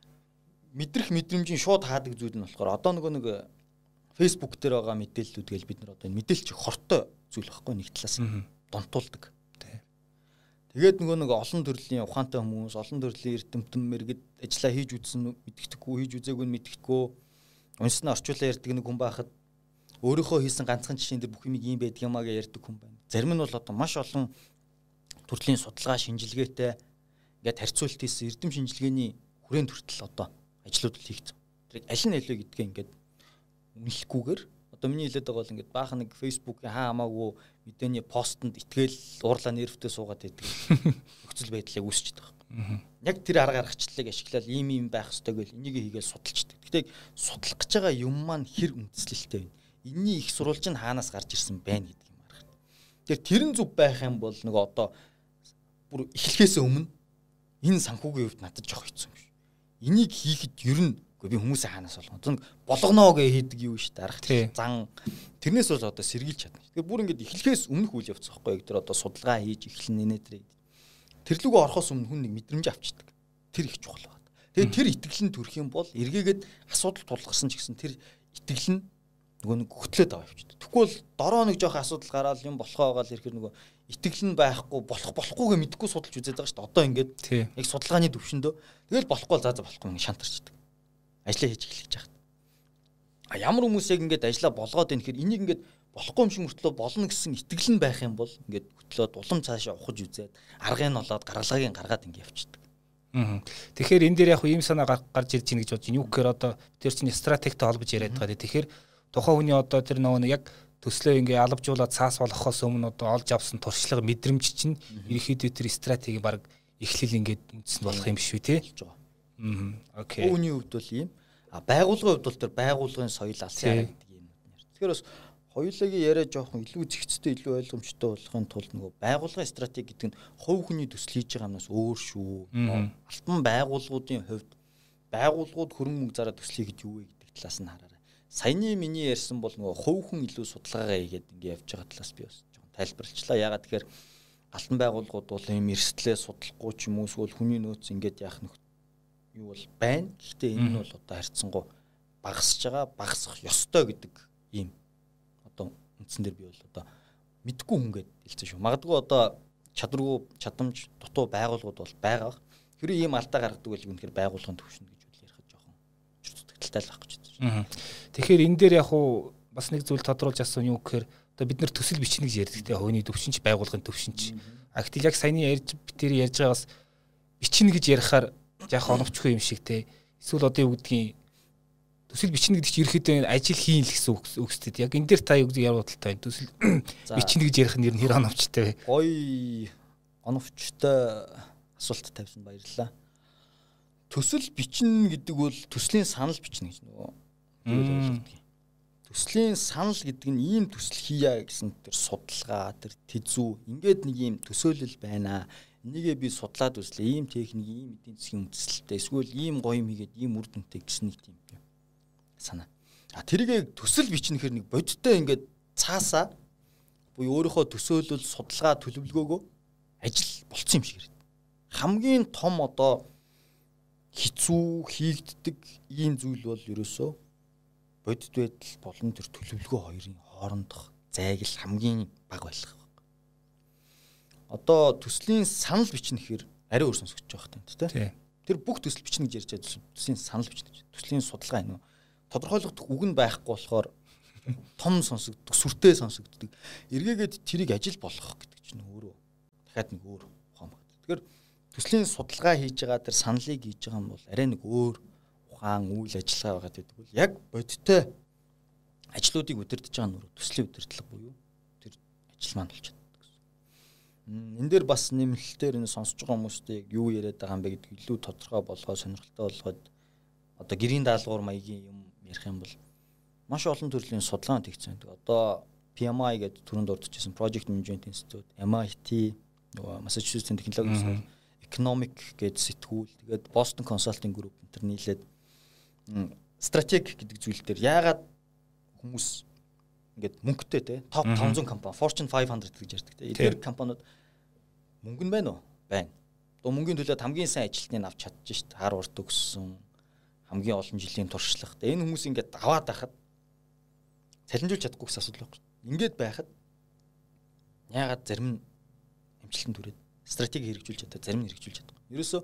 мэдрэх мэдрэмжийн шууд хаадаг зүйл нь болохоор одоо нөгөө нэг Facebook дээр байгаа мэдээллүүд гээл бид нар одоо мэдээлч хортой зүйл байхгүй нэг талаас донтуулдаг. Тэгээд нөгөө нэг олон төрлийн ухаантай хүмүүс, олон төрлийн эрдэмтэн мэргэд ажиллаа хийж үзсэн мэддэхгүй, хийж үзээгүй нь мэддэхгүй. Унснаа орчуулаа ярьдаг нэг хүн байхад өөрийнхөө хийсэн ганцхан жишээн дээр бүх юм ийм байдаг юмаа гэж ярьдаг хүн байна. Зарим нь бол одоо маш олон төрлийн судалгаа шинжилгээтэй ингээд харьцуулт хийсэн эрдэм шинжилгээний хүрээнд хүртэл одоо ажлууд хийгдсэн. Тэр аль нь илүү гэдгээ ингээд үнэлэхгүйгээр одоо миний хэлээд байгаа бол ингээд баахан нэг Facebook-ийн хаа хамаагүй мэдээний постэнд итгээл уурлаа нервтэй суугаад байдаг нөхцөл байдлыг үүсчихэд байгаа. Яг тэр арга аргачлалыг ашиглаад ийм ийм байх ёстой гэл энийг хийгээл судалчдаг. Гэхдээ судлах гэж байгаа юм маань хэр үндэслэлтэй вэ? Энийний их сурвалж нь хаанаас гарч ирсэн байна гэдэг юм арга. Тэгэхээр тэрэн зүв байх юм бол нөгөө одоо бүр эхлэхээс өмнө энэ санхүүгийн хувьд надад жоох хэцүү юм шүү. Энийг хийхэд ер нь би хүмүүсээ хаанаас болгоно. Болгоно гэж хийдэг юу шүү дээ. Арга зан тэрнээс бол одоо сэргийлж чадна. Тэгэхээр бүр ингэж эхлэхээс өмнөх үйл явц байхгүй яг тэр одоо судалгаа хийж эхлэн нэнэтрээ. Тэрлүүгөө орохоос өмнө хүн нэг мэдрэмж авчдаг. Тэр их чухал байна. Тэгээд тэр итгэл нь төрөх юм бол эргээгээд асуудал тулгарсан ч гэсэн тэр итгэл нь нөгөө нэг хөтлөөд аваа явчихдаг. Тэгвэл дороо нэг жоох асуудал гараад юм болохоо байгаа л ирэхээр нөгөө итгэл нь байхгүй болох болохгүйгээ мэдгүй судалж үзээд байгаа шүү дээ. Одоо ингээд яг судалгааны төвшөндөө тэгэл болохгүй заа заа болохгүй нэг шантарчдаг. Ажлаа хийж эхлэх гэж байгаа. А ямар хүмүүс яг ингээд ажлаа болгоод байна гэхээр энийг ингээд болохгүй юм шиг мөртлөө болно гэсэн итгэл нь байх юм бол ингээд хөтлөөд улам цаашаа ухаж үзээд аргыг нь олоод гаргалагыг гаргаад ингээд явчихдаг. Аа. Тэгэхээр энэ дээр яг ийм санаа гарч ирж байна гэж бодож байна. Юу гэхээр одоо тэр чинь стратегтэй холбож яриад байгаа. Тэгэхээр тухайн хүний одоо тэр нөгөө яг төслөө ингээ алавжуулаад цаас болохоос өмнө одоо олж авсан туршлага мэдрэмж чинь ерөөхдөө тэр стратеги баг эхлэл ингээд үндсэнд болох юм биш үү те? Аа. Окей. Үүний хувьд бол ийм. А байгууллагын хувьд бол тэр байгууллагын соёл алсын арга гэдэг юм нэр. Тэгэхээр бас хоёулагийн яриа жоохон илүү зэгцтэй илүү ойлгомжтой болохын тулд нөгөө байгууллагын стратеги гэдэг нь хувь хүний төсөл хийж байгаа юмнаас өөр шүү. Алтан байгууллагуудын хувьд байгууллагууд хөрөнгө мөнгө зараад төслийг гэж юу вэ гэдэг талаас нь хараарай. Саяны миний ярьсан бол нөгөө хувь хүн илүү судалгаагаа хийгээд ингэ явж байгаа талаас би бас жоохон тайлбарлачлаа. Ягаад тэгэхээр алтан байгууллагууд бол ийм эрсдлээ судлахгүй ч юм уу эсвэл хүний нөөц ингэж яах нөх юу бол байна. Гэхдээ энэ нь бол одоо харьцангуй багасж байгаа, багасах ёстой гэдэг ийм одоо үндсэн дээр би бол одоо мэдгүй хүн гээд хэлсэн шүү. Магадгүй одоо чадваргүй, чадамж дутуу байгууллагууд бол байгаа. Хэрэв ийм алдаа гаргадаг бол үнэхээр байгууллагын төвшин гэж үл ярих жоохон чөлөөтэй л байхгүй ч гэсэн. Тэгэхээр энэ дээр яг уу бас нэг зүйл тодруулж асуусан юу гэхээр одоо бид нар төсөл бичнэ гэж ярьдаг те хойны төвшинч байгууллагын төвшинч. А гэтэл яг саяны ярьж битэр ярьж байгаас бичнэ гэж ярихаар яг оновчгүй юм шиг те. Эсвэл одоо юу гэдгийг төсөл бичнэ гэдэг чинь ерөөхдөө ажил хийн л гэсэн үг үстэй. Яг энэ дээр та юу гэж яруудaltaй байна. Төсөл бичнэ гэж ярих нь нэр оновчтой вэ? Ой оновчтой асуулт тавьсан баярлалаа. Төсөл бичнэ гэдэг бол төслийн санал бичнэ гэж нөгөө. Төслийн санал гэдэг нь ийм төсөл хийя гэсэн тэр судалгаа, тэр тэзүү ингээд нэг ийм төсөөлөл байна. Энийгээ би судлаад үзлээ. Ийм техник, ийм эдийн засгийн үндэслэлтэй эсвэл ийм гоё юм хийгээд ийм үр дүнтэй гэсэн нэг тийм санаа. А тэрийг төсөл бичнэхэр нэг бодиттой ингээд цаасаа буюу өөрийнхөө төсөөлөл, судалгаа, төлөвлөгөөгөө ажил болцсон юм шиг хэрэг. Хамгийн том одоо хэцүү хийгддэг ийм зүйл бол ерөөсөө бодит байдал болон тэр төлөвлөгөө хоёрын хоорондох зайгил хамгийн бага байх. Одоо төслийн санал бичнэ гэхээр арай өөр сонсогдож байгаа юм тийм. Тэр бүх төсөл бичнэ гэж ярьж байгаа төслийн санал бичнэ. Төслийн судалгаа энэ тодорхойлох үг нь байхгүй болохоор том сонсогддог, сүртэй сонсогддог. Эргээгээд тэрийг ажил болгох гэдэг чинь өөрөө дахиад нэг өөр ухаан байна. Тэгэхээр төслийн судалгаа хийж байгаа тэр саналыг хийж байгаа юм бол арай нэг өөр ухаан үйл ажиллагаа байгаа гэдэг бол яг бодиттой ажлуудыг удирдах байгаа нь төслийн удирдлага буюу тэр ажил маань болж байна гэсэн. Энэ дээр бас нэмэлтээр энэ сонсож байгаа хүмүүстээ яг юу яриад байгаа юм бэ гэдэг илүү тодорхой болгоо сонирхолтой болгоод одоо гэрийн даалгавар маягийн юм ярих юм бол маш олон төрлийн судалгаанд хийгдсэн байдаг. Одоо P M I гэдэг түрүүнд дурдчихсан Project Management Institute, M I T, Massachusetts технологийн Economic гэдэг сэтгүүл, тэгээд Boston Consulting Group энэ нийлээд стратеги гэдэг зүйл дээр яагаад хүмүүс ингээд мөнгөтэй те топ five hundred компани, Fortune five hundred гэж ярьдаг те. Эдгээр компаниуд мөнгө нь байна уу? Байна. Одоо мөнгөний төлөөд хамгийн сайн ажилтныг авч чадчих шүү дээ. Harvard төгссөн хамгийн олон жилийн туршлага. Энэ хүмүүс ингээд аваад байхад цалинжуулж чадахгүй гэсэн асуудал байхгүй. Ингээд байхад яагаад зарим нь амжилтанд хүрээд стратеги хэрэгжүүлж чадаа, зарим нь хэрэгжүүлж чадахгүй. Ерөөсөө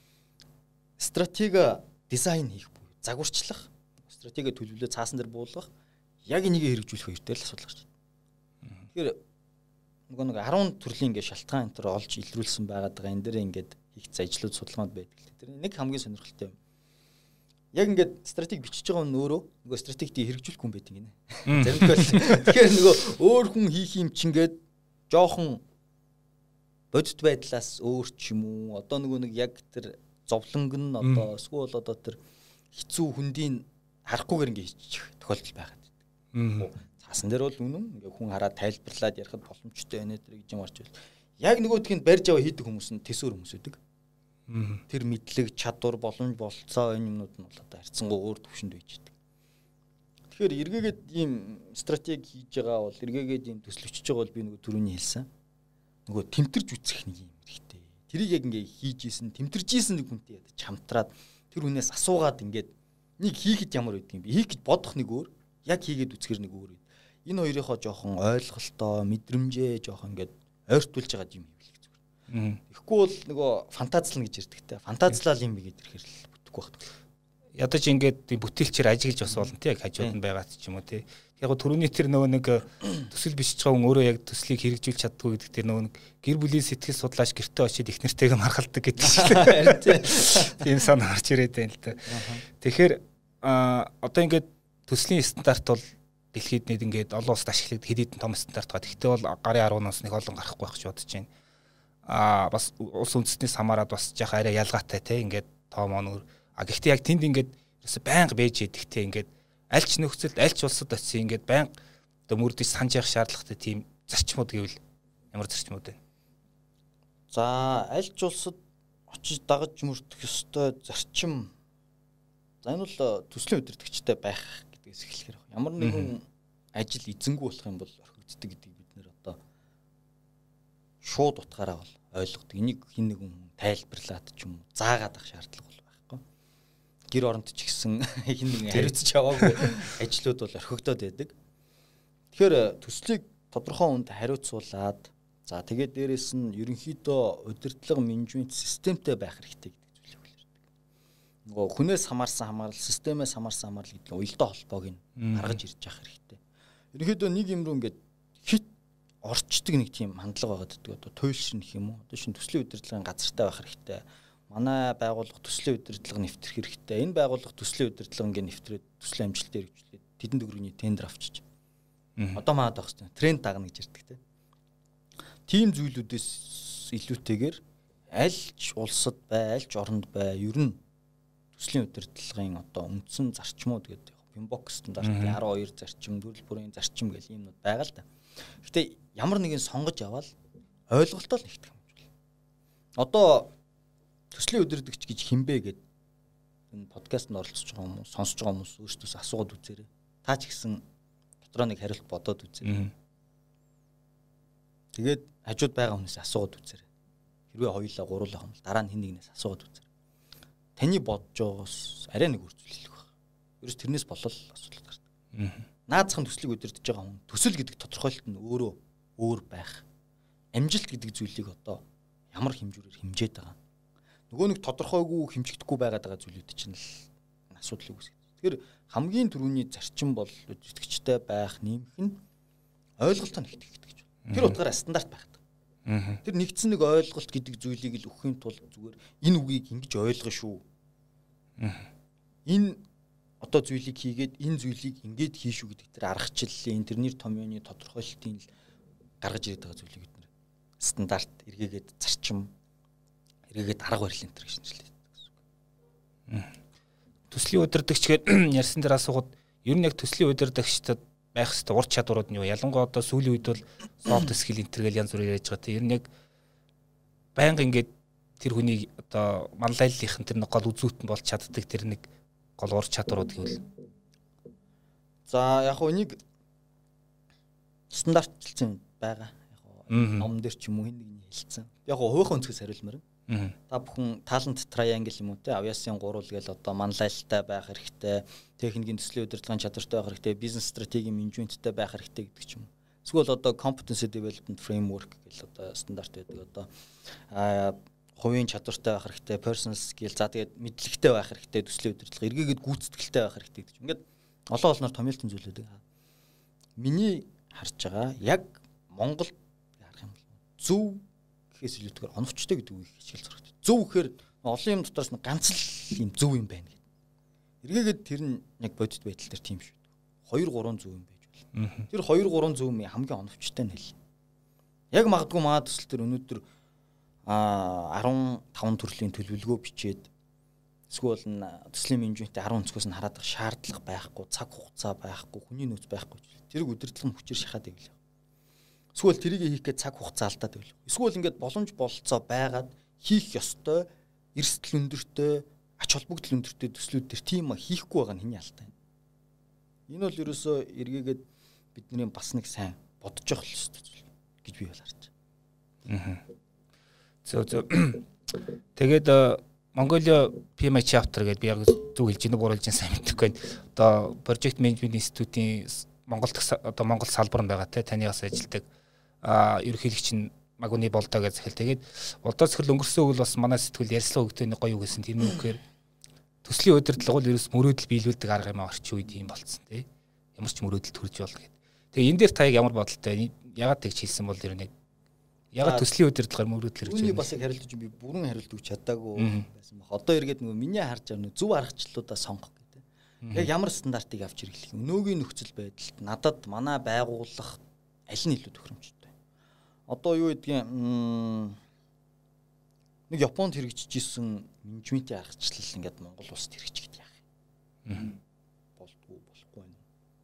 стратеги дизайн хийх буюу загварчлах, стратеги төлөвлөлөө цаасан дээр буулгах, яг энийг хэрэгжүүлэх хоёр дээр л асуудал гарч байна. Тэгэхээр нөгөө нэг ten төрлийн ингээд шалтгаан энэ төр олж илрүүлсэн байгаад байгаа. Энэ дээр ингээд хийгдсэн ажлууд судалгаанд байдаг. Тэр нэг хамгийн сонирхолтой юм. Яг ингээд стратеги бичиж байгаа нь өөрөө нөгөө стратегийг хэрэгжүүлэх хүн байдаг гинэ. Заримдаа тэгэхээр нөгөө өөр хүн хийх юм чингээд жоохон бодит байдлаас өөр ч юм уу одоо нөгөө нэг яг тэр зовлонг нь одоо эсвэл одоо тэр хэцүү хүндийн харахгүйгээр ингээд хийчих тохиолдол байгаад байдаг. Цаасан дээр бол үнэн ингээд хүн хараад тайлбарлаад ярихад боломжтой байна тэр гэж юм орж байна. Яг нөгөөдх нь барьж аваа хийдэг хүмүүс нь төсөөр хүмүүс үүдэг. Тэр мэдлэг, чадвар, боломж, болцоо энэ юмнууд нь бол одоо харьцангуй өөр төвшөнд байж байгаа. Тэгэхээр эргээгээд ийм стратеги хийж байгаа бол эргээгээд ийм төслөвчж байгаа бол би нөгөө түрүүний хэлсэн. Нөгөө тэмтэрж үцэх нэг юм хэрэгтэй. Тэрийг яг ингээ хийж исэн, тэмтэрж исэн нэг хүнтэй ядаж хамтраад тэр хүнээс асуугаад ингээд нэг хийхэд ямар байдг юм бэ? Хийх гэж бодох нэг өөр, яг хийгээд үцгэр нэг өөр. Энэ хоёрынхоо жоохон ойлголтоо, мэдрэмжээ жоохон ингээд ойртуулж байгаа юм хийвэл зүгээр. Тэгэхгүй бол нөгөө фантазлна гэж ярьдагтай. Фантазлал юм бэ гэдэг хэрэг бүтэхгүй байна. Ядаж ингээд бүтээлчээр ажиглаж бас болно тий яг хажууд нь байгаад ч юм уу тий. Яг түрүүний тэр нөгөө нэг төсөл бичиж байгаа хүн өөрөө яг төслийг хэрэгжүүлж чаддгүй гэдэг тэр нөгөө нэг гэр бүлийн сэтгэл судлаач гэртээ очиод их нэртэйгээ маргалдаг гэдэг чинь. Тийм санаа гарч ирээд байна л да. Тэгэхээр одоо ингээд төслийн стандарт бол дэлхийд нэд ингээд олон улсад ашиглагддаг хэд хэдэн том стандарт байгаа. Гэхдээ бол гарын арван нас нэг олон гарахгүй байх гэж бодож байна. Аа бас улс үндэстнээс хамаарат бас жаахан арай ялгаатай те ингээд том онор. А гэхдээ яг тэнд ингээд ерөөсө байнга бэж идэгтэй ингээд аль ч нөхцөлд аль ч улсад очив ингээд байнга одоо мөрдөж санаж явах шаардлагатай тийм зарчмууд гэвэл ямар зарчмууд вэ? За аль ч улсад очиж дагаж мөрдөх ёстой зарчим. За энэ бол төслийн удирдагчтай байх гэдгээс эхлэхээр ямар нэгэн ажил эзэнгүй болох юм бол орхигддаг гэдгийг бид нэр одоо шууд утгаараа бол ойлгодог. Энийг хин нэгэн тайлбарлаад ч юм уу заагаад ах шаардлага бол байхгүй. Гэр оронд ч гэсэн хин нэгэн хариуцж яваагүй ажлууд бол орхигдоод байдаг. Тэгэхээр төслийг тодорхой хүнд хариуцуулаад за тэгээд дээрэс нь ерөнхийдөө удирдлага менежмент системтэй байх хэрэгтэй гэдэг зүйлийг хэлэрдэг. Нөгөө хүнээс хамаарсан хамаарал, системээс хамаарсан хамаарал гэдэг нь уялдаа холбоог нь гаргаж ирж явах хэрэгтэй. Ерөнхийдөө нэг юм руу ингээд хит орчдөг нэг тийм хандлага байгаа гэдэг. Одоо туйлшир нэх юм уу? Одоо шинэ төслийн удирдлагын газартай байх хэрэгтэй. Манай байгууллага төслийн удирдлага нэвтрэх хэрэгтэй. Энэ байгууллага төслийн удирдлага ингээд нэвтрээд төслийн амжилтыг хэрэгжүүлээд тэдэнд төгрөгийн тендер авчиж. Одоо маад байх хэрэгтэй. Тренд дагна гэж ярьдаг тийм. Тийм зүйлүүдээс илүүтэйгээр аль ч улсад бай, аль ч оронд бай, ер нь төслийн удирдлагын одоо үндсэн зарчмууд гэдэг Pimbock стандартын арван хоёр зарчим, төрөл бүрийн зарчим гэх юмнууд байгаа л да. Гэтэ ямар нэгэн сонгож аваад ойлголтоо л нэгтгэх юм байна. Одоо төслийн удирдагч гэж хинбэ гэд энэ подкастт оролцож байгаа хүмүүс, сонсож байгаа хүмүүс өөрсдөөс асуугаад үзээрэй. Та ч гэсэн дотроо нэг хариулт бодоод үзээрэй. Тэгээд хажууд байгаа хүнээс асуугаад үзээрэй. Хэрвээ хоёулаа гуруулаа юм бол дараа нь хэн нэгнээс асуугаад үзээрэй. Таны бодож байгаас арай нэг үргэлжлүүлэх байх. Ерөөс тэрнээс болол асуудал гардаг. Наацхан төслийг удирдах байгаа хүн төсөл гэдэг тодорхойлолт нь өөрөө өөр байх. Амжилт гэдэг зүйлийг одоо ямар хэмжүүрээр хэмжээд байгаа. Нөгөө нэг тодорхойгүй хэмжигдэхгүй байгаад байгаа зүйлүүд чинь л асуудал үүсгэж. Тэгэхээр хамгийн түрүүний зарчим бол удирдагчтай байх нэмэх нь ойлголтоо нэгтгэх гэдэг гэж байна. Тэр утгаараа стандарт байх. Тэр нэгдсэн нэг ойлголт гэдэг зүйлийг л өгөхийн тулд зүгээр энэ үгийг ингэж ойлгоно шүү. Энэ одоо зүйлийг хийгээд энэ зүйлийг ингэж хийшүү гэдэг тэр аргачлалын тэр нэр томьёоны тодорхойлолтын л гаргаж ирээд байгаа зүйлийг бид нэр стандарт эргээгээд зарчим эргээгээд арга барил энэ төр гэж нэрлэдэг гэсэн. Төслийн удирдагч гэхээр ярьсан дээр асуугаад ер нь яг төслийн удирдагчдад байх хэвээр ур чадварууд нь юу? Ялангуяа одоо сүүлийн үед бол soft skill интергээл янз бүрээр яаж байгаа. Ер нь яг байнга ингээд тэр хүний одоо манлайллынх нь тэр нэг гол үзүүтэн болж чаддаг тэр нэг гол ур чадварууд гэвэл. За яг хөө нэг стандартчлсан байгаа. Яг хөө ном дээр ч юм уу хэн нэгний хэлсэн. Яг хөө хувийнхаа өнцгөөс хариулмаар. Та бүхэн талент triangle юм уу те авьяасын гурвал гээл одоо манлайлалтай байх хэрэгтэй, техникийн төслийн удирдлагын чадвартай байх хэрэгтэй, бизнес стратегийн менежменттэй байх хэрэгтэй гэдэг ч юм. Эсвэл одоо competency development framework гэл одоо стандарт байдаг. Одоо а хувийн чадвартай байх хэрэгтэй, personal skill, за тэгээд мэдлэгтэй байх хэрэгтэй, төслийн удирдлага эргээгээд гүйцэтгэлтэй байх хэрэгтэй гэдэг ч. Ингээд олон олноор томьёолтын зүйлүүд. Миний харж байгаа яг Монголд харах юм бол зөв гэхээс илүүтэйгээр оновчтой гэдэг үгийг хичээл зурагт. Зөв гэхээр олон юм дотроос нь ганц л юм зөв юм байна гэдэг. Эргээгээд тэр нь яг бодит байдал дээр тийм шүү. хоёр гурван зөв юм байж болно. Тэр хоёр гурван зөв юм хамгийн оновчтой нь хэл. Яг магадгүй маа төсөл төр өнөөдөр а арван таван төрлийн төлөвлөгөө бичээд эсвэл төслийн менежментийн арван өнцгөөс нь хараад шаардлага байхгүй, цаг хугацаа байхгүй, хүний нөөц байхгүй. Тэрийг удирдлага хүчээр шахаад байв. Эсвэл тэрийг хийх гэж цаг хугацаа алдаад байв. Эсвэл ингээд боломж бололцоо байгаад хийх ёстой, эрсдэл өндөртэй, ач холбогдол өндөртэй төслүүд төр тийм хийхгүй байгаа нь хэний алтай. Энэ бол ерөөсөө эргээгээд бидний бас нэг сайн бодож явах ёстой зүйл гэж би бол харж байна. Зөв зөв. Тэгээд Mongolia пи эм ай chapter гэдэг би яг зөв хэлж ийнө гурвалж сайн мэдэхгүй байна. Одоо Project Management Institute-ийн Монгол одоо Монгол салбар нь байгаа те таньгаас ажилладаг а ерөнхийлөгч нь Магуны болдоо гэж захил. Тэгээд болдоо захил өнгөрсөн үйл бас манай сэтгүүл ярьслаа өгдөөний гоё юу гэсэн тийм үгээр төслийн удирдлага бол ерөөс мөрөөдөл биелүүлдэг арга юм орчин үед юм болцсон тий. ямар ч мөрөөдөл төрж болно гэдэг. Тэгээ энэ дээр та яг ямар бодолтой ягаад тэгж хэлсэн бол ер нь ягаад төслийн удирдлагаар мөрөөдөл хэрэгжиж байна? Үүний бас яг хариулт би бүрэн хариулт өгч чадаагүй байсан баг. Одоо эргээд нөгөө миний харж байгаа зөв аргачлалуудаа сонгох гэдэг. Яг ямар стандартыг авч хэрэглэх юм. Өнөөгийн нөхцөл байдалд надад манай байгууллага аль нь илүү тохиромжтой. Одоо юу гэдгийг нэг Японд хэрэгжиж исэн менежментийн аргачлал ингээд Монгол улсад хэрэгжиж гэдэг яах юм. Болдгоо болохгүй байна.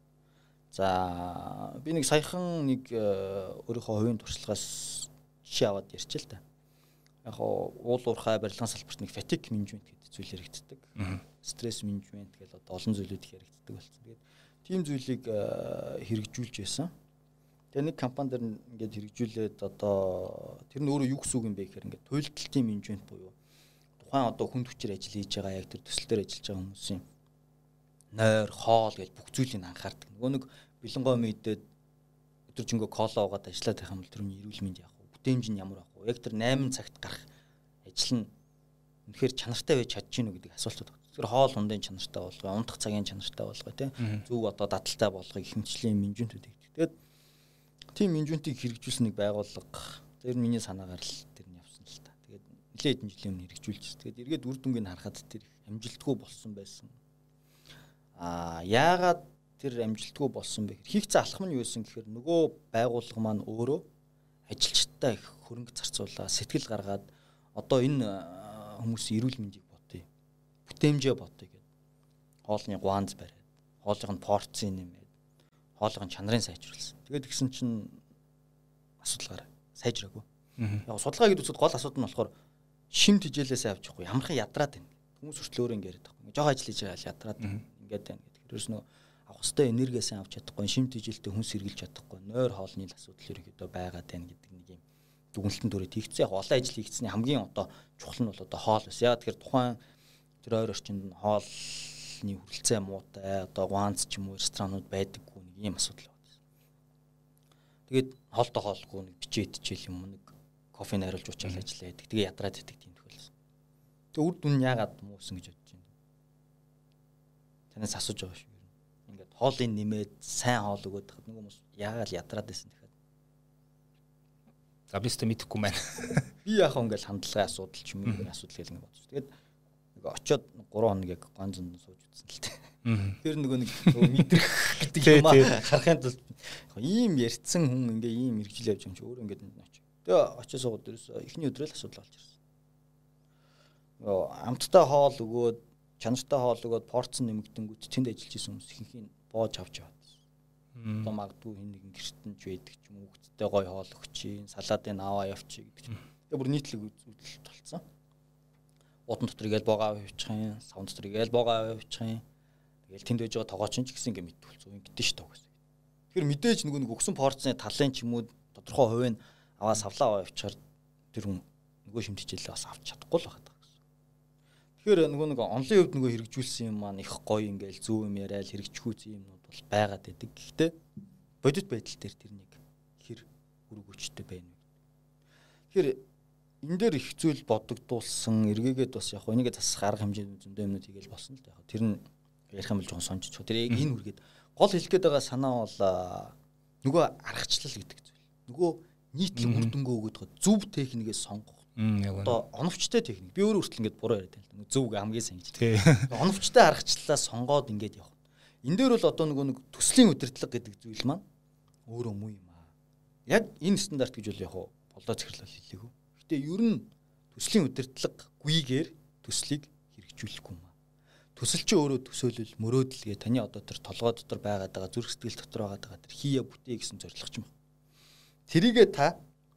За би нэг саяхан нэг өөрийнхөө хувийн туршлагаас жишээ аваад ярьчих л та. Яг уул уурхай барилгын салбарт нэг fatigue management гэдэг зүйл хэрэгждэг. Стресс менежмент гэдэг одоо олон зүйлүүд хэрэгждэг болсон. Тэгээд тийм зүйлийг хэрэгжүүлж байсан. Тэгээ нэг компани дээр ингээд хэрэгжүүлээд одоо тэр нь өөрөө юу гэсэн үг юм бэ гэхээр ингээд туйлдалтын менежмент буюу тухайн одоо хүнд хүчээр ажил хийж байгаа яг тэр төсөл дээр ажиллаж байгаа хүмүүсийн нойр, хоол гэж бүх зүйлийг анхаардаг. Нөгөө нэг бэлэнгой мэдээд өдөржингөө кола уугаад ажиллаад байх юм бол тэр нь эрүүл мэнд яах вэ? Бүтээмж нь ямар байх вэ? Яг тэр найман цагт гарах ажил нь үнэхээр чанартай байж чадж гинүү гэдэг асуултууд байна. Тэр хоол ундын чанартай болгоо, унтах цагийн чанартай болгоо тийм зөв одоо дадалтай болгоо гэх мэтчлийн менежментүүд гэдэг. Тэгээд тийм менежментийг хэрэгжүүлсэн нэг байгууллага тэр миний санаагаар л тэр нь явсан л та. Тэгээд нэлээд хэдэн жилийн өмнө хэрэгжүүлж. Тэгээд эргээд үр дүнгийг харахад тэр амжилтгүй болсон байсан. Аа яагаад тэр амжилтгүй болсон бэ гэхээр хийх цаа алхам нь юу байсан гэхээр нөгөө байгууллага маань өөрөө ажилчдаа их хөрөнгө зарцуулаа, сэтгэл гаргаад одоо энэ хүмүүсийн эрүүл мэндийг бодъё. Бүтээмжээ бодъё гэдэг. Хоолны гуанз бариад, хоолны порцийн нэмээд, хоолны чанарын сайжруулсан. Тэгээд гисэн чинь асуудалгаар сайжраагүй. Яг судалгаа гэдэг үсэд гол асуудал нь болохоор шимт хижээлээсээ авч явахгүй. Ямархан ядраад байна. Хүмүүс хүртэл өөрөө ингээд байхгүй. Жохоо ажил хийж байгаа ядраад ингээд байна гэдэг. Тэрс нөө авах хөстэй энергиасаа авч чадахгүй, шимт хижээлтэй хүнс хэрглэж чадахгүй, нойр хоолны асуудал ерөөдөө байгаад байна гэдэг нэг юм дүгнэлтэн төрөд хийгдсэн. Яг олон ажил хийгдсэний хамгийн одоо чухал нь бол одоо хоол байсан. Яг тэгэхээр тухайн тэр ойр орчинд хоолны хүрэлцээ муутай, одоо гуанз ч юм уу ресторанууд байдаггүй нэг юм асуудал байна. Тэгээд хоолтой хоолгүй нэг бичээ идчихэл юм нэг кофе найруулж уучаал ажиллаа гэдэг. Тэгээ ядраад идэг тийм тохиолсон. Тэгээ үр дүн нь яагаад муусан гэж бодож байна. Танаас асууж байгаа шүү. Ингээд хоолыг нэмээд сайн хоол өгөөд хад нэг хүмүүс яагаад ядраад байсан тэгэхээр. За бистэ мэдэхгүй байна. Би яах вэ ингээд хандлагын асуудал ч юм уу асуудал гэж ингээд бодсон. Тэгээд нэг очиод гурван хоног яг ганцнд сууж үзсэн л тээ. Тэр нөгөө нэг мэдрэх гэдэг юм аа харахын тулд ийм ярьцсан хүн ингээ ийм мэрэгжил явж байгаа юм чи өөр ингээд очив. Тэгээ очиж суугаад дээрээс эхний өдрөө л асуудал болж ирсэн. Нөгөө амттай хоол өгөөд чанартай хоол өгөөд порц нэмэгдэнгүүт тэнд ажиллаж исэн хүмүүс ихэнх нь боож авч яваад. Одоо магадгүй хин нэгэн гэртэнж байдаг ч юм уу хүүхдтэй гой хоол өгчийн, салаадын аваа явчих гэдэг чинь. Тэгээ бүр нийтлэг үзүүлэлт толцсон. Удан дотор игээл боогоо авчих юм, савн дотор игээл боогоо авчих юм. Тэгэл тэнд байж байгаа тогооч ч гэсэн ингээ мэдтүүлсэн юм гэдэг ш таа гэсэн. Тэгэхээр мэдээж нөгөө нэг өгсөн порцны талын ч юм уу тодорхой хувийн аваа савлаа аваа явчихаар тэр хүн нөгөө шимтгийлээ бас авч чадахгүй л байна. Тэгэхээр нөгөө нэг онлын хувьд нөгөө хэрэгжүүлсэн юм маань их гоё ингээл зөв юм яриад хэрэгжихүүц юмнууд бол байгаад байдаг. Гэхдээ бодит байдал дээр тэр нэг хэр үргүүчтэй байна вэ? Тэгэхээр энэ дээр их зүйл бодогдуулсан эргээгээд бас яг энийгээ засах арга хэмжээний зөндөө юмнууд хийгээл болсон л да. Яг тэр нь ярих юм бол жоон сонжиж. Тэр яг энэ үргээд гол хэлэх гээд байгаа санаа бол нөгөө аргачлал гэдэг зүйл. Нөгөө нийтлэг үр дүнгөө өгöd зөв техникээс сонгох. Одоо оновчтой техник. Би өөрөө хүртэл ингэж буруу яриад байна. Зөв хамгийн сайн гэж. Оновчтой аргачлалаа сонгоод ингэж явах. Энэ дээр бол одоо нөгөө нэг төслийн удирдлага гэдэг зүйл маань өөрөө муу юм аа. Яг энэ стандарт гэж бол яг болоо захирлал хэлээгүй. Гэтэ ер нь төслийн удирдлага гүйгээр төслийг хэрэгжүүлэхгүй юм аа. Төсөл чи өөрөө төсөөлөл мөрөөдөлгээ таны одоо тэр толгой дотор байгаад байгаа зүрх сэтгэл дотор байгаад байгаа тэр хийя бүтээ гэсэн зорилго ч юм. Тэрийгээ та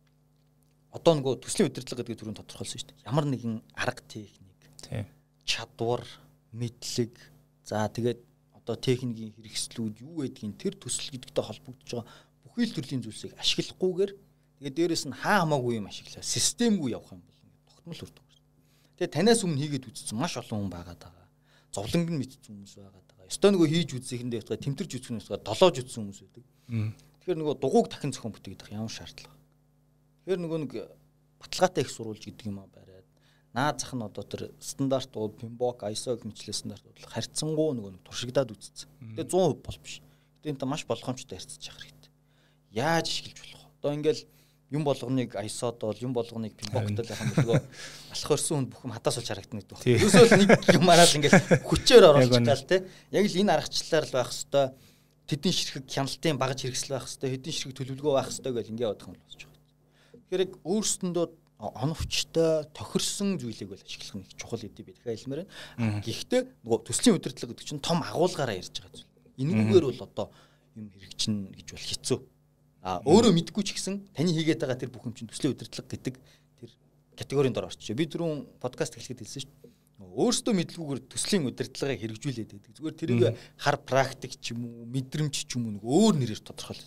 одоо нөгөө төслийн удирдлага гэдэг төрөнд тодорхойлсон шүү дээ. Ямар нэгэн арга техник, чадвар, мэдлэг, за тэгээд одоо техникийн хэрэгслүүд юу гэдгийг тэр төсөл гэдэгтэй холбогдож байгаа бүхий л төрлийн зүйлсийг ашиглахгүйгээр тэгээд дээрэс нь хаа хамаагүй юм ашиглаа системгүй явах юм бол ингээд тогтмол үрдэг. Тэгээд танаас өмнө хийгээд үзсэн маш олон хүн байгаад байгаа. Зовлонг нь мэдсэн хүмүүс байгаад байгаа. Ёстой нөгөө хийж үзсэхэндээ ятгаа тэмтэрч үзсэн хүмүүс байгаа, долоож үзсэн хүмүүс байдаг. Тэгэхээр нөгөө дугуйг дахин зохион бүтээгээд байгаа ямар шаардлага. Тэгэхээр нөгөө нэг баталгаатай их сурвалж гэдэг юм аа бариад наад зах нь одоо тэр стандартууд Pinbock, ай эс о гэх мэтлээ стандартууд харьцангуй нөгөө нэг туршигдаад үзсэн. Тэгээ сто процент бол биш. студенттэй маш болгоомжтой харьцаж явах хэрэгтэй. Яаж ашиглаж болох вэ? Одоо ингээл юм болгоныг ай эс о-д бол юм болгоныг пинбоктол яхан бэлгөө алах өрсөн хүнд бүх юм хатаас олж харагдана гэдэг байна. Ерөөсөө л нэг юм араас ингээл хүчээр оруулж гал те. Яг л энэ аргачлалаар л байх хэвээр тэдний ширхэг хяналтын багаж хэрэгсэл байх хэвээр хэдийн ширхэг төлөвлөгөө байх хэвээр гэл ингээ бодох юм болж байгаа. Тэгэхээр яг өөрсөндөө оновчтой тохирсон зүйлийг бол ашиглах нь их чухал гэдэг би дахиад хэлмээр байна. Гэхдээ нөгөө төслийн удирдлага гэдэг чинь том агуулгаараа ярьж байгаа зүйл. Энэгүүгээр бол одоо юм хэрэгжинэ гэж бол хэцүү. А өөрөө мэдгүй ч гэсэн таны хийгээд байгаа тэр бүх юм чинь төслийн удирдлага гэдэг тэр категорийн дор орчих. Би түрүүн подкаст эхлэхэд хэлсэн шүү дээ. Өөрөөсөө мэдлгүйгээр төслийн удирдлагыг хэрэгжүүлээд байдаг. Зүгээр тэрийг хар практик ч юм уу, мэдрэмж ч юм уу нэг өөр нэрээр тодорхойлдог.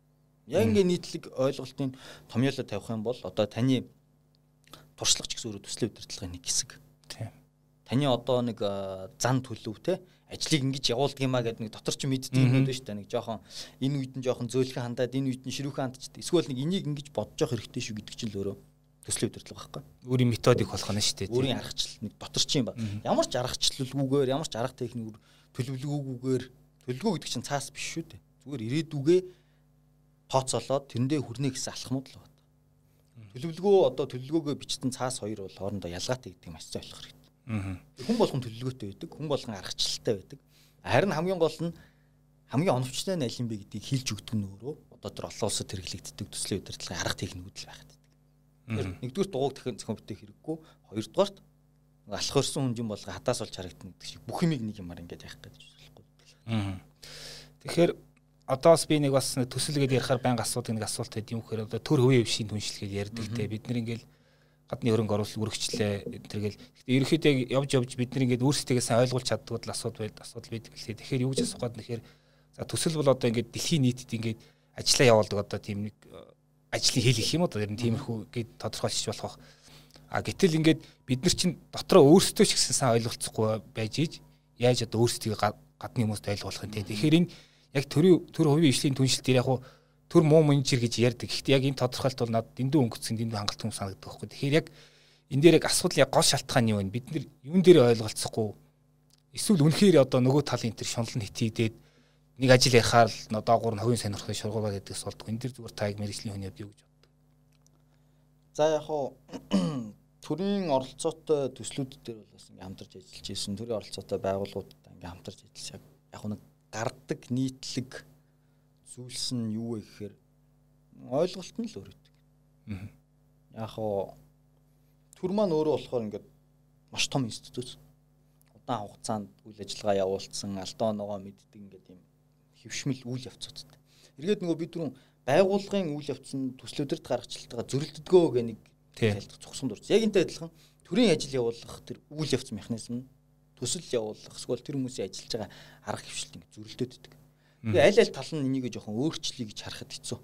Яг ингээ нийтлэг ойлголтын томьёолоо тавих юм бол одоо таны туршлага ч гэсэн өөрөө төслийн удирдлагын нэг хэсэг. Тийм. Таны одоо нэг зан төлөв те ажлыг ингэж явуулдаг юмаа гэдэг нэг дотор ч мэддэг юм байна шүү дээ. Нэг жоохон энэ үед нь жоохон зөөлхөн хандаад энэ үед нь ширүүхэн хандчихдээ. Эсвэл нэг энийг ингэж бодож явах хэрэгтэй шүү гэдэг чинь л өөрөө төслийн удирдлага байхгүй. Өөрийн методик болох нь шүү дээ. Өөрийн аргачлал нэг дотор ч юм ба. Ямар ч аргачлалгүйгээр, ямар ч арга техникээр төлөвлөгөөгүйгээр төлөвлөгөө гэдэг чинь цаас биш шүү дээ. Зүгээр ирээдүгээ тооцоолоод тэрэндээ хүрнэ гэсэн алхмууд л байна. Төлөвлөгөө одоо төлөвлөгөөгөө бичсэн цаас хоёр бол хоорондоо ялгаатай гэдэг юм асууж ойлгох хэрэгтэй. Хүн болгон төлөвлөгөөтэй байдаг, хүн болгон аргачлалтай байдаг. Харин хамгийн гол нь хамгийн оновчтой нь аль юм бэ гэдгийг хэлж өгдөг нь өөрөө одоо тэр олон улсад хэрэглэгддэг төслийн удирдлагын арга техникүүд л байгаад байдаг. Тэгэхээр нэгдүгээр дугуйг дахин зохион бүтээх хэрэггүй, хоёрдугаарт алах өрсөн хүн юм болго хатаас олж харагдана гэдэг шиг бүх юмыг нэг юмар ингэж явах гэж болохгүй. Тэгэхээр одоос би нэг бас төсөлгээд ярихаар байнга асуудаг нэг асуулт байд юм гэхээр одоо төр хувийн хвшийн түншлэгээд ярьдаг те бид нар ингээл гадны хөрөнгө оруулалт үргэлжлээ тэргээл ерөнхийдөө явж явж бид нар ингээд өөрсдөө сайн ойлгуулж чаддгүй л асуудал байд асуудал байдаг лээ. Тэгэхээр юу гэж асуух гээд нэхэр за төсөл бол одоо ингээд дэлхийн нийтэд ингээд ажиллаа явуулдаг одоо тийм нэг ажлын хэл гэх юм одоо ер нь тиймэрхүү гээд тодорхойлчих болох. А гэтэл ингээд бид нар чинь дотроо өөрсдөө ч гэсэн сайн ойлголцохгүй байж ийж яаж одоо өөрсдөө гадны хүмүүст ойлгуулах юм те. Тэгэхээр энэ яг төрийн төр хувийн хвшлийн түншлэл дээр яг төр муу менежер гэж ярьдаг. Гэхдээ яг энэ тодорхойлт бол надад дэндүү өнгөцсөн дэндүү хангалт юм санагддаг байхгүй. Тэгэхээр яг энэ дээр яг асуудал яг гол шалтгаан юу вэ? Бид нар юун дээр ойлголцохгүй эсвэл үнэхээр одоо нөгөө талын тэр шунал нь хитийдээд нэг ажил ярихаар л доогуур нь хувийн сонирхлын шургуулаад байдагс болдог. Энэ дэр зүгээр та яг мэргэжлийн хүний хувьд юу гэж боддог? За яг хуу төрийн оролцоотой төслүүд дээр бол бас ингээм хамтарч ажиллаж ирсэн. Төрийн оролцоотой байгууллагуудтай ингээм хамтарч ажиллаж яг хуу нэг гардаг нийтлэг зүйлс нь юу вэ гэхээр ойлголт нь л өөр өгдөг. Яг хоо төр маань өөрөө болохоор ингээд маш том институт. Удаан хугацаанд үйл ажиллагаа явуулсан, алдаа оноогоо мэддэг ингээд юм хөвшмөл үйл явцуудтай. Эргээд нөгөө бид түрүүн байгууллагын үйл явцанд төслүүдэрд гаргачлалтайгаа зөрөлддгөө гэх нэг тайлбар цогсон дурч. Яг энтэй адилхан төрийн ажил явуулах тэр үйл явц механизм төсөл явуулах эсвэл тэр хүмүүсийн ажиллаж байгаа арга хвшилт ингэ зөрөлдөд идэг. Тэгээ аль аль тал нь энийг жоохон өөрчлөе гэж харахад хэцүү.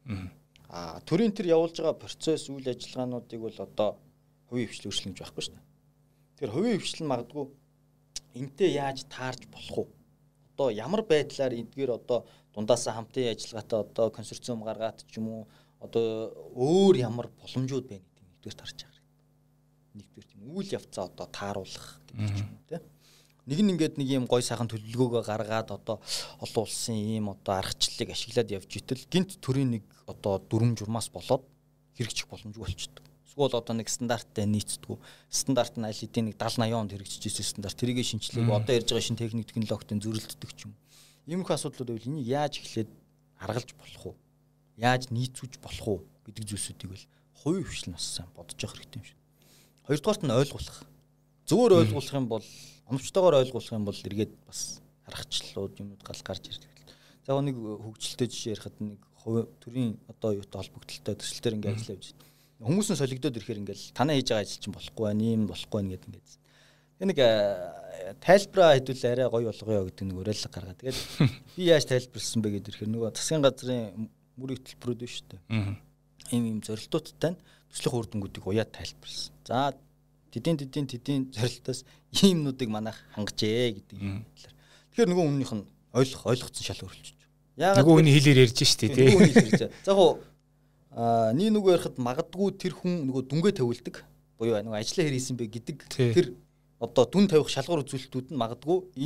Аа төрийн тэр явуулж байгаа процесс үйл ажиллагаануудыг бол одоо хувийн хвшил өөрчлөн гэж байхгүй шүү дээ. Тэр хувийн хвшил нь магадгүй энтэй яаж таарч болох вэ? Одоо ямар байдлаар эдгээр одоо дундаасаа хамтын ажиллагаатай одоо консорциум гаргаад ч юм уу одоо өөр ямар боломжууд байна гэдэг нэгдүгээр тарж байгаа хэрэгтэй. Нэгдүгээр тийм үйл явцаа одоо тааруулах гэдэг ч юм уу тийм. Нэг нь ингээд нэг юм гой сайхан төлөвлөгөөгөө гаргаад одоо олон улсын ийм одоо аргачлалыг ашиглаад явж итэл гинт төрийн нэг одоо дүрм журмаас болоод хэрэгжих боломжгүй болчихдог. Эсвэл одоо нэг стандарттай нийцдэг. Стандарт нь аль хэдийн нэг даал восемь онд хэрэгжиж ирсэн стандарт тэрийг шинжилээг одоо ярьж байгаа шинэ техник технологитой зөрөлддөг ч юм. Иймэрхүү асуудлууд байвал энийг яаж эхлээд аргалж болох уу? Яаж нийцүүлж болох уу гэдэг зүйлсүүдийг бол хувийн хвшил нас сайн бодож явах хэрэгтэй юм шиг. Хоёрдугаарт нь ойлгуулах. Зөвөр ойлгуулах юм бол оновчтойгоор ойлгуулах юм бол эргээд бас аргачлалууд юмуд гал гарч ирдэг. За нэг хөгжилтэй жишээ ярихад нэг төрийн одоо юутай холбогдолтой төсөлтөр ингээд ажиллаж явж байна. Хүмүүс нь солигдоод ирэхээр ингээл танаа хийж байгаа ажил чинь болохгүй байна, ийм болохгүй байна гэдэг ингээд. Тэгээ нэг тайлбараа хэдүүл арай гоё болгоё гэдэг нэг уриалга гаргаад. Тэгээд би яаж тайлбарласан бэ гэдэг ирэхээр нөгөө засгийн газрын мөр хөтөлбөрүүд биш үү? Аа. Ийм ийм зорилтуудтай төслийн хүрдэнгүүдийг уяад тайлбарласан. За тэдийн тэдийн тэдийн зорилтоос иймнүүдийг манайх хангажээ гэдэг юм. Тэгэхээр нөгөө өмнөх нь ойлгох ойлгоцсон шал өөрчлөж байна. Яагаад нөгөө хүний хэлээр ярьж штэ тий. Нөгөө хүний хэлээр. За яг аа нэг нөгөө ярихад магадгүй тэр хүн нөгөө дүнгээ тавилдаг буюу нөгөө ажиллаа хэр хийсэн бэ гэдэг тэр одоо дүн тавих шалгуур үзүүлэлтүүд нь магадгүй энэ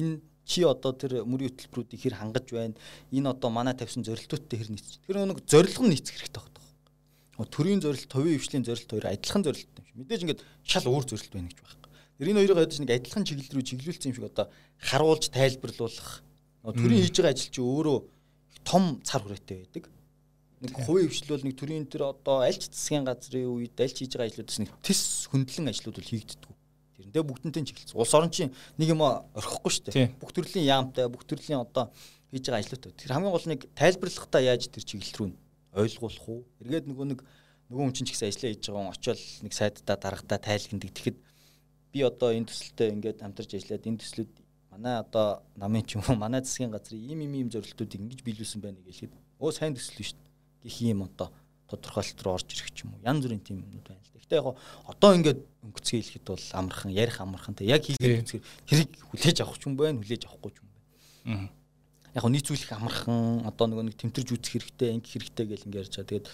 чи одоо тэр мөрийн хөтөлбөрүүдийг хэр хангаж байна? Энэ одоо манай тавьсан зорилтуудтай хэр нийцэж. Тэр нэг зорилго нь нийцэх хэрэгтэй байна. Төрийн зорилт, товийн хвшлийн зорилт хоёр адилхан зорилт юм шиг. Мэдээж ингээд шал өөр зорилт байна гэж байна. Тэр энэ хоёрыг ядаж нэг адилхан чиглэл рүү чиглүүлсэн юм шиг одоо харуулж тайлбарлуулах. Төрийн хийж байгаа ажил чи өөрөө том цар хүрээтэй байдаг. Нэг хувийн хвшил бол нэг төрийн тэр одоо аль ч засгийн газрын үед аль ч хийж байгаа ажлуудаас нэг тис хөндлөн ажлууд бол хийгддэг. Тэрнээ бүгднтэй чиглэлсэн. Улс орон чинь нэг юм орхихгүй шүү дээ. Бүх төрлийн яамтай, бүх төрлийн одоо хийж байгаа ажлууд. Тэр хамгийн гол нэг тайлбарлахдаа яаж тэр чиглэл рүү ойлгуулах уу? Эргээд нөгөө нэг нөгөө хүн чинь ч гэсэн ажиллаа хийж байгаа хүн очиод нэг сайддаа дарагдаа тайлгнадаг. Тэгэхэд би одоо энэ төсөлтөд ингээд хамтарч ажиллаад энэ төслүүд манай одоо намын ч юм уу манай засгийн газрын ийм ийм ийм зорилтуудыг ингэж биелүүлсэн байна гэхэд өө сайн төсөл шүү дээ. Гэх юм одоо тодорхойлолт руу орж ирэх ч юм уу. Янз бүрийн тийм юмнууд байна л да. Гэтэ яг одоо ингээд өнгөцгөө хэлэхэд бол амархан, ярих амархан те яг хийгээд үзэхээр тэрийг хүлээж авах ч юм байна, хүлээж авахгүй ч юм байна. Яг нийцүүлэх амархан, одоо нөгөө нэг тэмтэрж үзэх хэрэгтэй, ингэх хэрэгтэй гэл ингээд ярьж байгаа. Тэгээд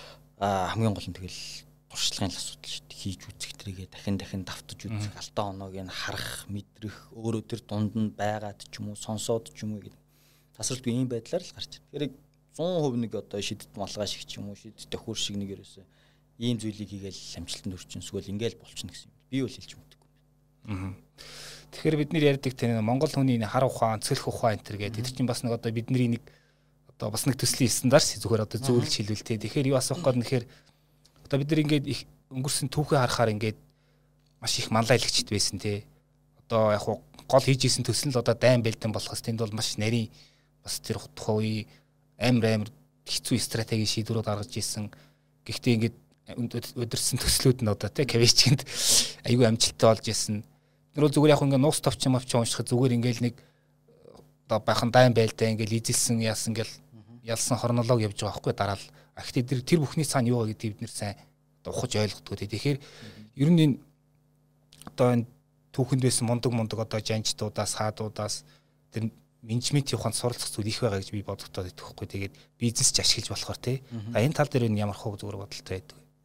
аа хамгийн гол нь тэгэл туршлагын асуудал шүү дээ. Хийж үзэх тэрийгээ дахин дахин давтаж үзэх, алдаа оноог нь харах, мэдрэх, өөрөө тэр дунд нь байгаад ч юм уу, сонсоод ч юм уу гэдэг. Тасралтгүй ийм байдлаар л гарч ирдэг. Тэгэхээр сто процент нэг одоо шидэт малгай шиг ч юм уу, шидэт төхөр шиг нэг ерөөсөө ийм зүйлийг хийгээл амжилтанд хүрчин эсвэл ингээл болчихно гэсэн юм. Би бол хэлж мэддэггүй. Аа. Тэгэхээр бид нэр ярьдаг тэр Монгол хүний хар ухаан, цэлх ухаан энэ төр гэдэг. Тэр чинь бас нэг одоо бидний нэг одоо бас нэг төслийн стандарт зүгээр одоо зөвлөж хэлвэл тэ. Тэгэхээр юу асуух гээд нэхэр одоо бид нар ингээд их өнгөрсөн түүхээ харахаар ингээд маш их манлайлагчд байсан тэ. Одоо яг гол хийж исэн төсөл нь л одоо дайн бэлдэн болохоос тэнд бол маш нарийн бас тэр тухай амар амар хэцүү стратегийн шийдвэрүүд гаргаж ирсэн. Гэхдээ ингээд өдөрсөн төслүүд нь одоо тий кавичинд айгүй амжилттай болж ирсэн. Тэр бол зүгээр яг ингээд нуус товчон мовч уншихад зүгээр ингээд нэг одоо байхан дайн байлдаа ингээд изэлсэн яасан ингээл ялсан хронолог явж байгаа байхгүй дараа л. Гэхдээ тэр тэр бүхний цаана юу вэ гэдгийг бид нэр сайн одоо ухаж ойлгохгүй тий. Тэгэхээр ер нь энэ одоо энэ түүхэнд байсан мундаг мундаг одоо жанжтуудаас хаадуудаас тэр менежментийн ухаанд суралцах зүйл их байгаа гэж би бодогдоод байдаг хгүй. Тэгээд бизнес ч ашиглаж болохоор тий. А энэ тал дээр нь ямар хөө зүгээр бодолтой байдаг вэ?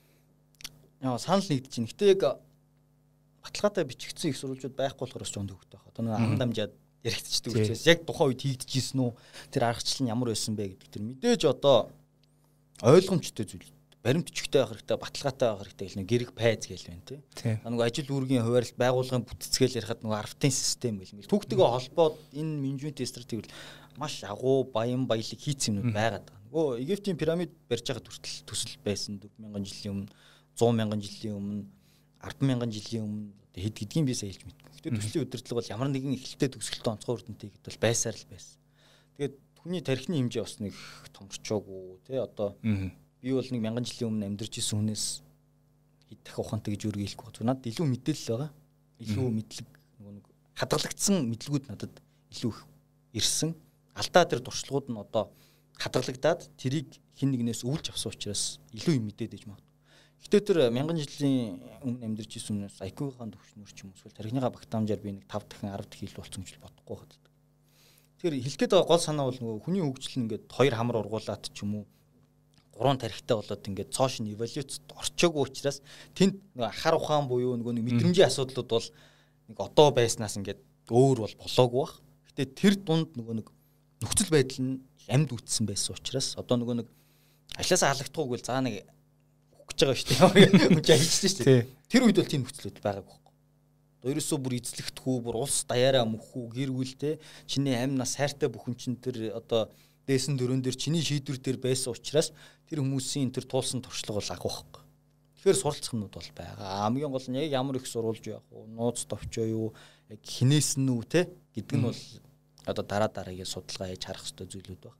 Яа санал нэгдэж байна. Гэтэ яг баталгаатай бичигдсэн их сурвалжууд байхгүй болохоор ч жонд хөвгтэй байна. Одоо нэг ам дамжаад яригдчихдэг учраас яг тухайн үед хийгдэжсэн үү? Тэр аргачлал нь ямар байсан бэ гэдэг тэр мэдээж одоо ойлгомжтой зүйл. Баримтчигтэй байх хэрэгтэй, баталгаатай байх хэрэгтэй гэл нэг гэрэг пайз гээл байна тий. Нэг ажил үүргийн хуваарлт байгууллагын бүтцгээл ярихад нэг артын систем гэл мэл. Түүхтэйгээ холбоод энэ менежментийн стратеги маш агуу баян баялаг хийцэн юмуд байгаад байгаа. Нөгөө Египтийн пирамид барьж байгаа хүртэл төсөл байсан дөрвөн мянган жилийн өмнө, зуун мянган жилийн өмнө, арван мянган жилийн өмнө хэд гэдгийг би сайн хэлж мэдгүй. Гэтэ төслийн удирдлага бол ямар нэгэн эхлэлтэй төгсгөлтэй онцгой үрдэнтэй гэдэл бол байсаар л байсан. Тэгээд хүний тархины хэмжээ бас нэг томорчоогүй тий одоо би бол нэг мянган жилийн өмнө амьдарч исэн хүнээс хэд дахин ухаантай гэж юу хэлэхгүй байна. Надад илүү мэдээлэл байгаа. Илүү мэдлэг нөгөө нэг хадгалагдсан мэдлгүүд надад илүү их ирсэн. Алдаа тэр туршлагууд нь одоо хадгалагдаад тэрийг хин нэгнээс өвлж авсан учраас илүү юм мэдээд иж магадгүй. Гэтэ тэр мянган жилийн өмнө амьдарч исэн хүнээс ай кью-ийн төвшнөр ч юм уу эсвэл тархиныхаа багтаамжаар би нэг тав дахин арав дахин илүү болсон гэж бодохгүй байна. Тэгэхээр хэлэх гээд байгаа гол санаа бол нөгөө хүний хөгжил нь ингээд хоёр хамар ургуулад ч юм уу гурван тарихтай болоод ингээд цоош нь эволюцид орчоогүй учраас тэнд хар ухаан буюу нөгөө нэг мэдрэмжийн асуудлууд бол нэг одоо байснаас ингээд өөр бол болоогүй бах. Гэтэ тэр дунд нөгөө нэг нөхцөл байдал нь амьд үтсэн байсан учраас одоо нөгөө нэг ажлаасаа халагдахгүй бол заа нэг өгч байгаа шүү дээ. Хүн ажиллаж шүү дээ. Тэр үед бол тийм нөхцөлүүд байгаагүй байхгүй. Одоо ерөөсөө бүр эзлэхдэггүй, бүр улс даяараа мөхүү, гэр бүлтэй чиний амь нас хайртай бүхэн чин тэр одоо дээсэн дөрөн дээр чиний шийдвэр дээр байсан учраас тэр хүмүүсийн тэр туулсан туршлага бол агуу байхгүй. Тэгэхээр суралцах юмуд бол байгаа. Хамгийн гол нь яг ямар их сурулж явах уу, нууц товчоо юу, яг хинээс нь үү те гэдэг нь бол одоо дараа дараагийн судалгаа хийж харах хэрэгтэй зүйлүүд байна.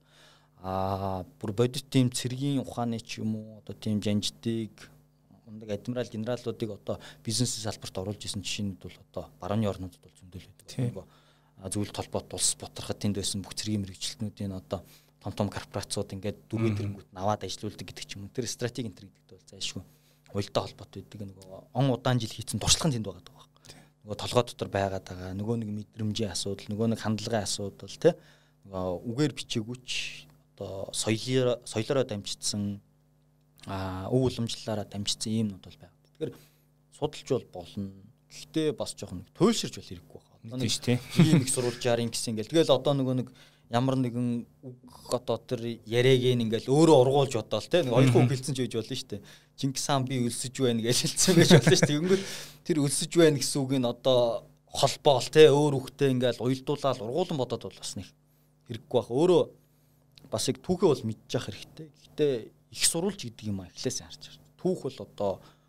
Аа бүр бодит тийм цэргийн ухааны ч юм уу одоо тийм жанжтыг ундаг адмирал генералуудыг одоо бизнесийн салбарт оруулж исэн жишээнүүд бол одоо барууны орнуудад бол зөндөл байдаг. Зөвлөлт толгойд улс боторход тэнд байсан бүх цэргийн мэрэгчлэтнүүдийн одоо том том корпорациуд ингээд дөрвөн тэрэнгүүт наваад ажилуулдаг гэдэг ч юм уу. Тэр стратеги энэ гэдэгт бол зайлшгүй уялдаа холбоотой байдаг. Нөгөө он удаан жил хийсэн туршлага нь тэнд байгаа даа. Нөгөө толгой дотор байгаад байгаа. Нөгөө нэг мэдрэмжийн асуудал, нөгөө нэг хандлагын асуудал тий. Нөгөө үгээр бичээгүйч одоо соёлоор соёлороо дамжигдсан аа өв уламжлалаараа дамжигдсан юмнууд бол байгаа. Тэгэхээр судалж бол болно. Гэхдээ бас жоохон туйлширч бол хэрэггүй байна. Тийм шүү дээ. Ийм их сурвалжаар ингэсэн ингээл. Тэгэл одоо нөгөө нэг ямар нэгэн үг одоо тэр яриаг ингээл өөрөө ургуулж бодоол те нэг хоёр үг хэлсэн ч үеж болно шүү дээ. Чингис хаан би өлсөж байна гэж хэлсэн байж болно шүү дээ. Тэнгүүд тэр өлсөж байна гэсэн үг нь одоо холбоол те өөр үгтэй ингээл уялдуулаад ургуулan бодоод бол бас нэг хэрэггүй байх. Өөрөө бас яг түүхээ бол мэдчих хэрэгтэй. Гэхдээ их сурвалж гэдэг юм а эхлээс харж байна. Түүх бол одоо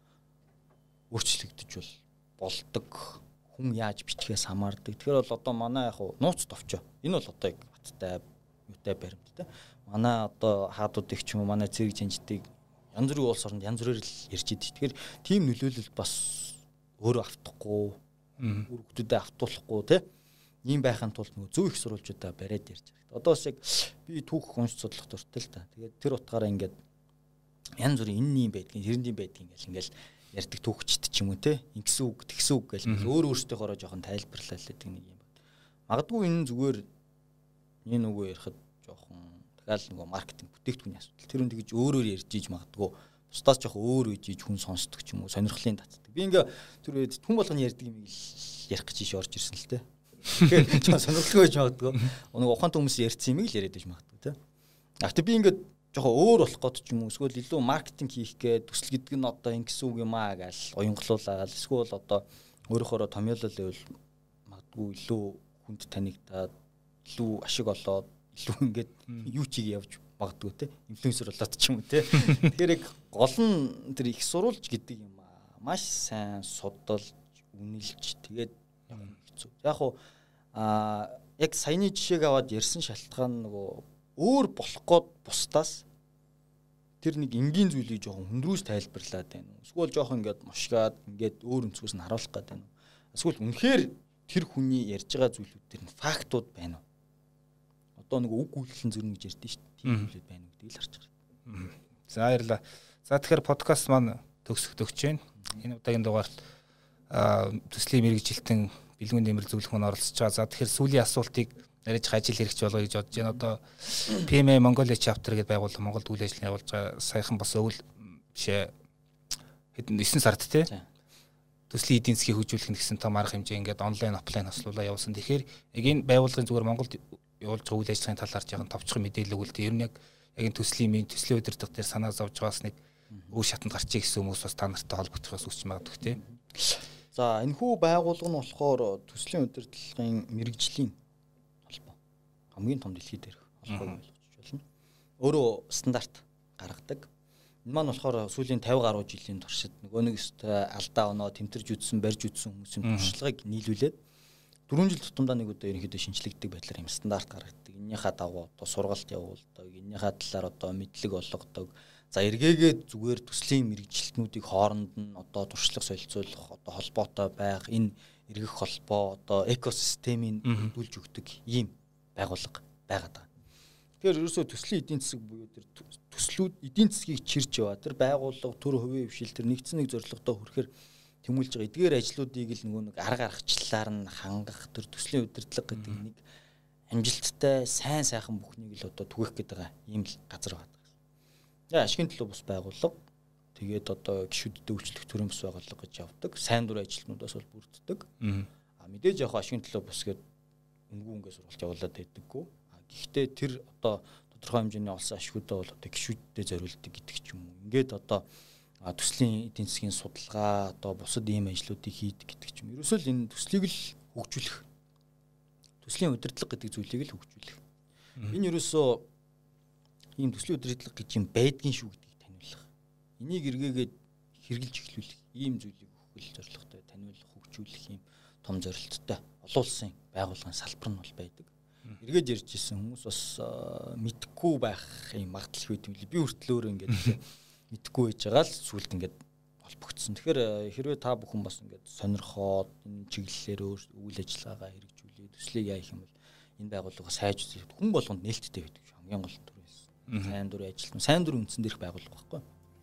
өөрчлөгдөж бол болдог. Хүн яаж бичгээс хамаардаг. Тэгэхээр бол одоо манай яг нууц товчоо. Энэ бол одоо яг баттай юутай баримттай. Манай одоо хаадуудыг ч юм уу манай цэрэг жанжтыг янз бүрийн улс оронд янз бүрээр л ярьж идэв. Тэгэхээр тийм нөлөөлөл бас өөрөө автахгүй, үр хөвгүүдэд автуулахгүй тий. Ийм байхын тулд нөгөө зөв их сурвалжуудаа бариад ярьж байгаа. Одоо бас яг би түүх унш судлах дуртай л та. Тэгээд тэр утгаараа ингээд янз бүрийн энэ юм байдгийг, хэрэнд юм байдгийг ингээл ингээл ярьдаг түүхчд ч юм уу те ингэсэн үг тэгсэн үг гэл өөр өөртөөхөөрөө жоохон тайлбарлаа л гэдэг нэг юм байна. Магадгүй энэ зүгээр энэ үгүй ярихад жоохон дахиад нөгөө маркетинг бүтээгдэхүүний асуудал. Тэр үн тэгж өөрөөр ярьж иж магадгүй бусдаас жоохон өөр үеж иж хүн сонсдог ч юм уу сонирхлын татдаг. Би ингээ тэр үед хүн болгоны ярьдаг юм ярих гэж иш орж ирсэн л те. Тэгэхээр жоохон сонирхолтой байж магадгүй. Нэг ухаантай хүмүүс ярьсан юм л яриад байж магадгүй те. Гэхдээ би ингээ жоохон өөр болох гээд ч юм уу эсвэл илүү маркетинг хийх гээд төсөл гэдэг нь одоо ингэсэн үг юм аа гэж уянгалуулаад эсвэл одоо өөрөөхөөрөө томьёолол байвал магадгүй илүү хүнд танигдаад илүү ашиг олоод илүү ингээд юу чиг явж магадгүй те инфлюенсер болоод ч юм уу те. Тэгэхээр яг гол нь тэр их сурвалж гэдэг юм аа маш сайн судалж үнэлж тэгээд хэцүү. Яг уу а яг саяны жишээг аваад ярьсан шалтгаан нөгөө өөр болох гээд бусдаас тэр нэг энгийн зүйлийг жоохон хөндрөөс тайлбарлаад байна. Эсвэл жоохон ингээд мушгаад ингээд өөр өнцгөөс нь харуулах гээд байна. Эсвэл үнэхээр тэр хүний ярьж байгаа зүйлүүд тэр нь фактууд байна уу? Одоо нэг үг үйлчлэн зөрнө гэж ярьдэн шүү дээ. Тийм зүйлүүд байна уу гэдгийг л харж байгаа. За баярлалаа. За тэгэхээр подкаст маань төгсөх төгч байна. Энэ удаагийн дугаарт төслийн мэргэжилтэн бэлгүүн нэмэр зөвлөх маань оролцож байгаа. За тэгэхээр сүүлийн асуултыг нарийнх ажил хэрэгч болоо гэж бодож байна. Одоо пи эм эй Mongolia chapter гэдээ байгууллага Монголд үйл ажиллагаа явуулж байгаа. Саяхан бас өвөл бишээ хэдэн девять сард тий. Төслийн эдийн засгийг хөгжүүлэх нь гэсэн том арга хэмжээ ингээд онлайн офлайн хослуулаа явуулсан. Тэгэхээр яг энэ байгууллагын зүгээр Монголд явуулж байгаа үйл ажиллагааны талаар жаахан товчхон мэдээлэл өгвөл тий. Ер нь яг яг энэ төслийн минь төслийн удирдах дээр санаа зовж байгаас нэг өөр шатанд гарчих гэсэн хүмүүс бас та нартай холбогдохоос үсч магадгүй тий. За энэ хүү байгууллага нь болохоор төслийн удирдлагын мэрэгжлийн холбоо. Хамгийн том дэлхийд дээрх холбоо болгож болно. Өөрөө стандарт гаргадаг. Энэ маань болохоор сүүлийн тавин гаруй жилийн туршид нөгөө нэг өстой алдаа оноо тэмтэрж үтсэн, барьж үтсэн хүмүүсийн туршлагыг нийлүүлээд дөрвөн жил тутамдаа нэг удаа ерөнхийдөө шинжлэгддэг байдлаар юм стандарт гаргадаг. Энийхээ дагуу одоо сургалт явуулдаг, энийхээ талаар одоо мэдлэг олгодог. За эргээгээд зүгээр төслийн мэрэгжилтнүүдийг хооронд нь одоо туршлага солилцуулах, одоо холбоотой байх, энэ эргэх холбоо, одоо экосистемийг хөдөлж өгдөг ийм байгууллага байгаад байгаа. Тэгэхээр ерөөсөө төслийн эдийн засаг буюу тэр төслүүд эдийн засгийг чирж яваа. Тэр байгууллага төр хувийн хвшил тэр нэгдсэн нэг зорилготой хүрэхээр тэмүүлж байгаа эдгээр ажлуудыг л нөгөө нэг арга аргачлалаар нь хангах тэр төслийн удирдлага гэдэг нэг амжилттай сайн сайхан бүхнийг л одоо түгэх гэдэг байгаа ийм л газар байна. За ашигын төлөө бус байгууллага тэгээд одоо гишүүдэд өвчлөх төрийн бус байгууллага гэж явдаг. Сайн дурын ажилтнуудаас бол бүрддэг. А мэдээж яг ашигын төлөө бус гэдэг өнгөө өнгөө сургалт явуулаад байдаггүй. Гэхдээ тэр одоо тодорхой хэмжээний олсон ашигудаа бол одоо гишүүдэд зориулдаг гэдэг ч юм уу. Ингээд одоо төслийн эдийн засгийн судалгаа одоо бусад ийм ажлуудыг хийдэг гэдэг ч юм. Ерөөсөө л энэ төслийг л хөгжүүлэх. Төслийн удирдлага гэдэг зүйлийг л хөгжүүлэх. Энэ ерөөсөө ийм төслийн удирдлага гэж юм байдгийн шүү гэдгийг таниулах. Энийг эргээгээд хэрэгжилж эхлүүлэх ийм зүйлийг өгөх зорилготой таниулах, хөгжүүлэх ийм том зорилттой олон улсын байгууллагын салбар нь бол байдаг. Эргээд ярьж ирсэн хүмүүс бас мэдхгүй байх юм магадлал байт юм лээ. Би хүртэл өөрөө ингээд мэдхгүй байж байгаа л сүулт ингээд холбогдсон. Тэгэхээр хэрвээ та бүхэн бас ингээд сонирхоод энэ чиглэлээр үйл ажиллагаагаа хэрэгжүүлээ, төслийг яах юм бол энэ байгууллага сайж хүн болгонд нээлттэй байдаг шүү. Хамгийн гол төр байсан. Сайн дурын ажилтан, сайн дурын үндсэн дээрх байгууллага байхгүй.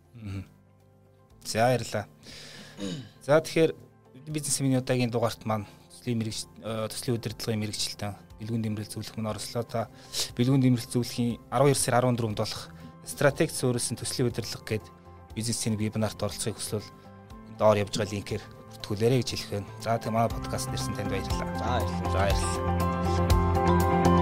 За баярлалаа. За тэгэхээр бизнес семинарын удаагийн дугаарт маань төслийн мэрэгч төслийн удирдлагын мэрэгчлэлтэн бэлгүүн дэмрэл зөвлөх мөн оролцлоо. Та бэлгүүн дэмрэл зөвлөхийн арван хоёр сарын арван дөрөвд болох стратеги суурилсан төслийн удирдлага гээд бизнесийн вебинарт оролцохыг хүсвэл доор явж байгаа линкээр бүртгүүлээрэй гэж хэлэх байна. За тийм манай подкаст нэрсэн танд баярлалаа. За баярлалаа. За баярлалаа.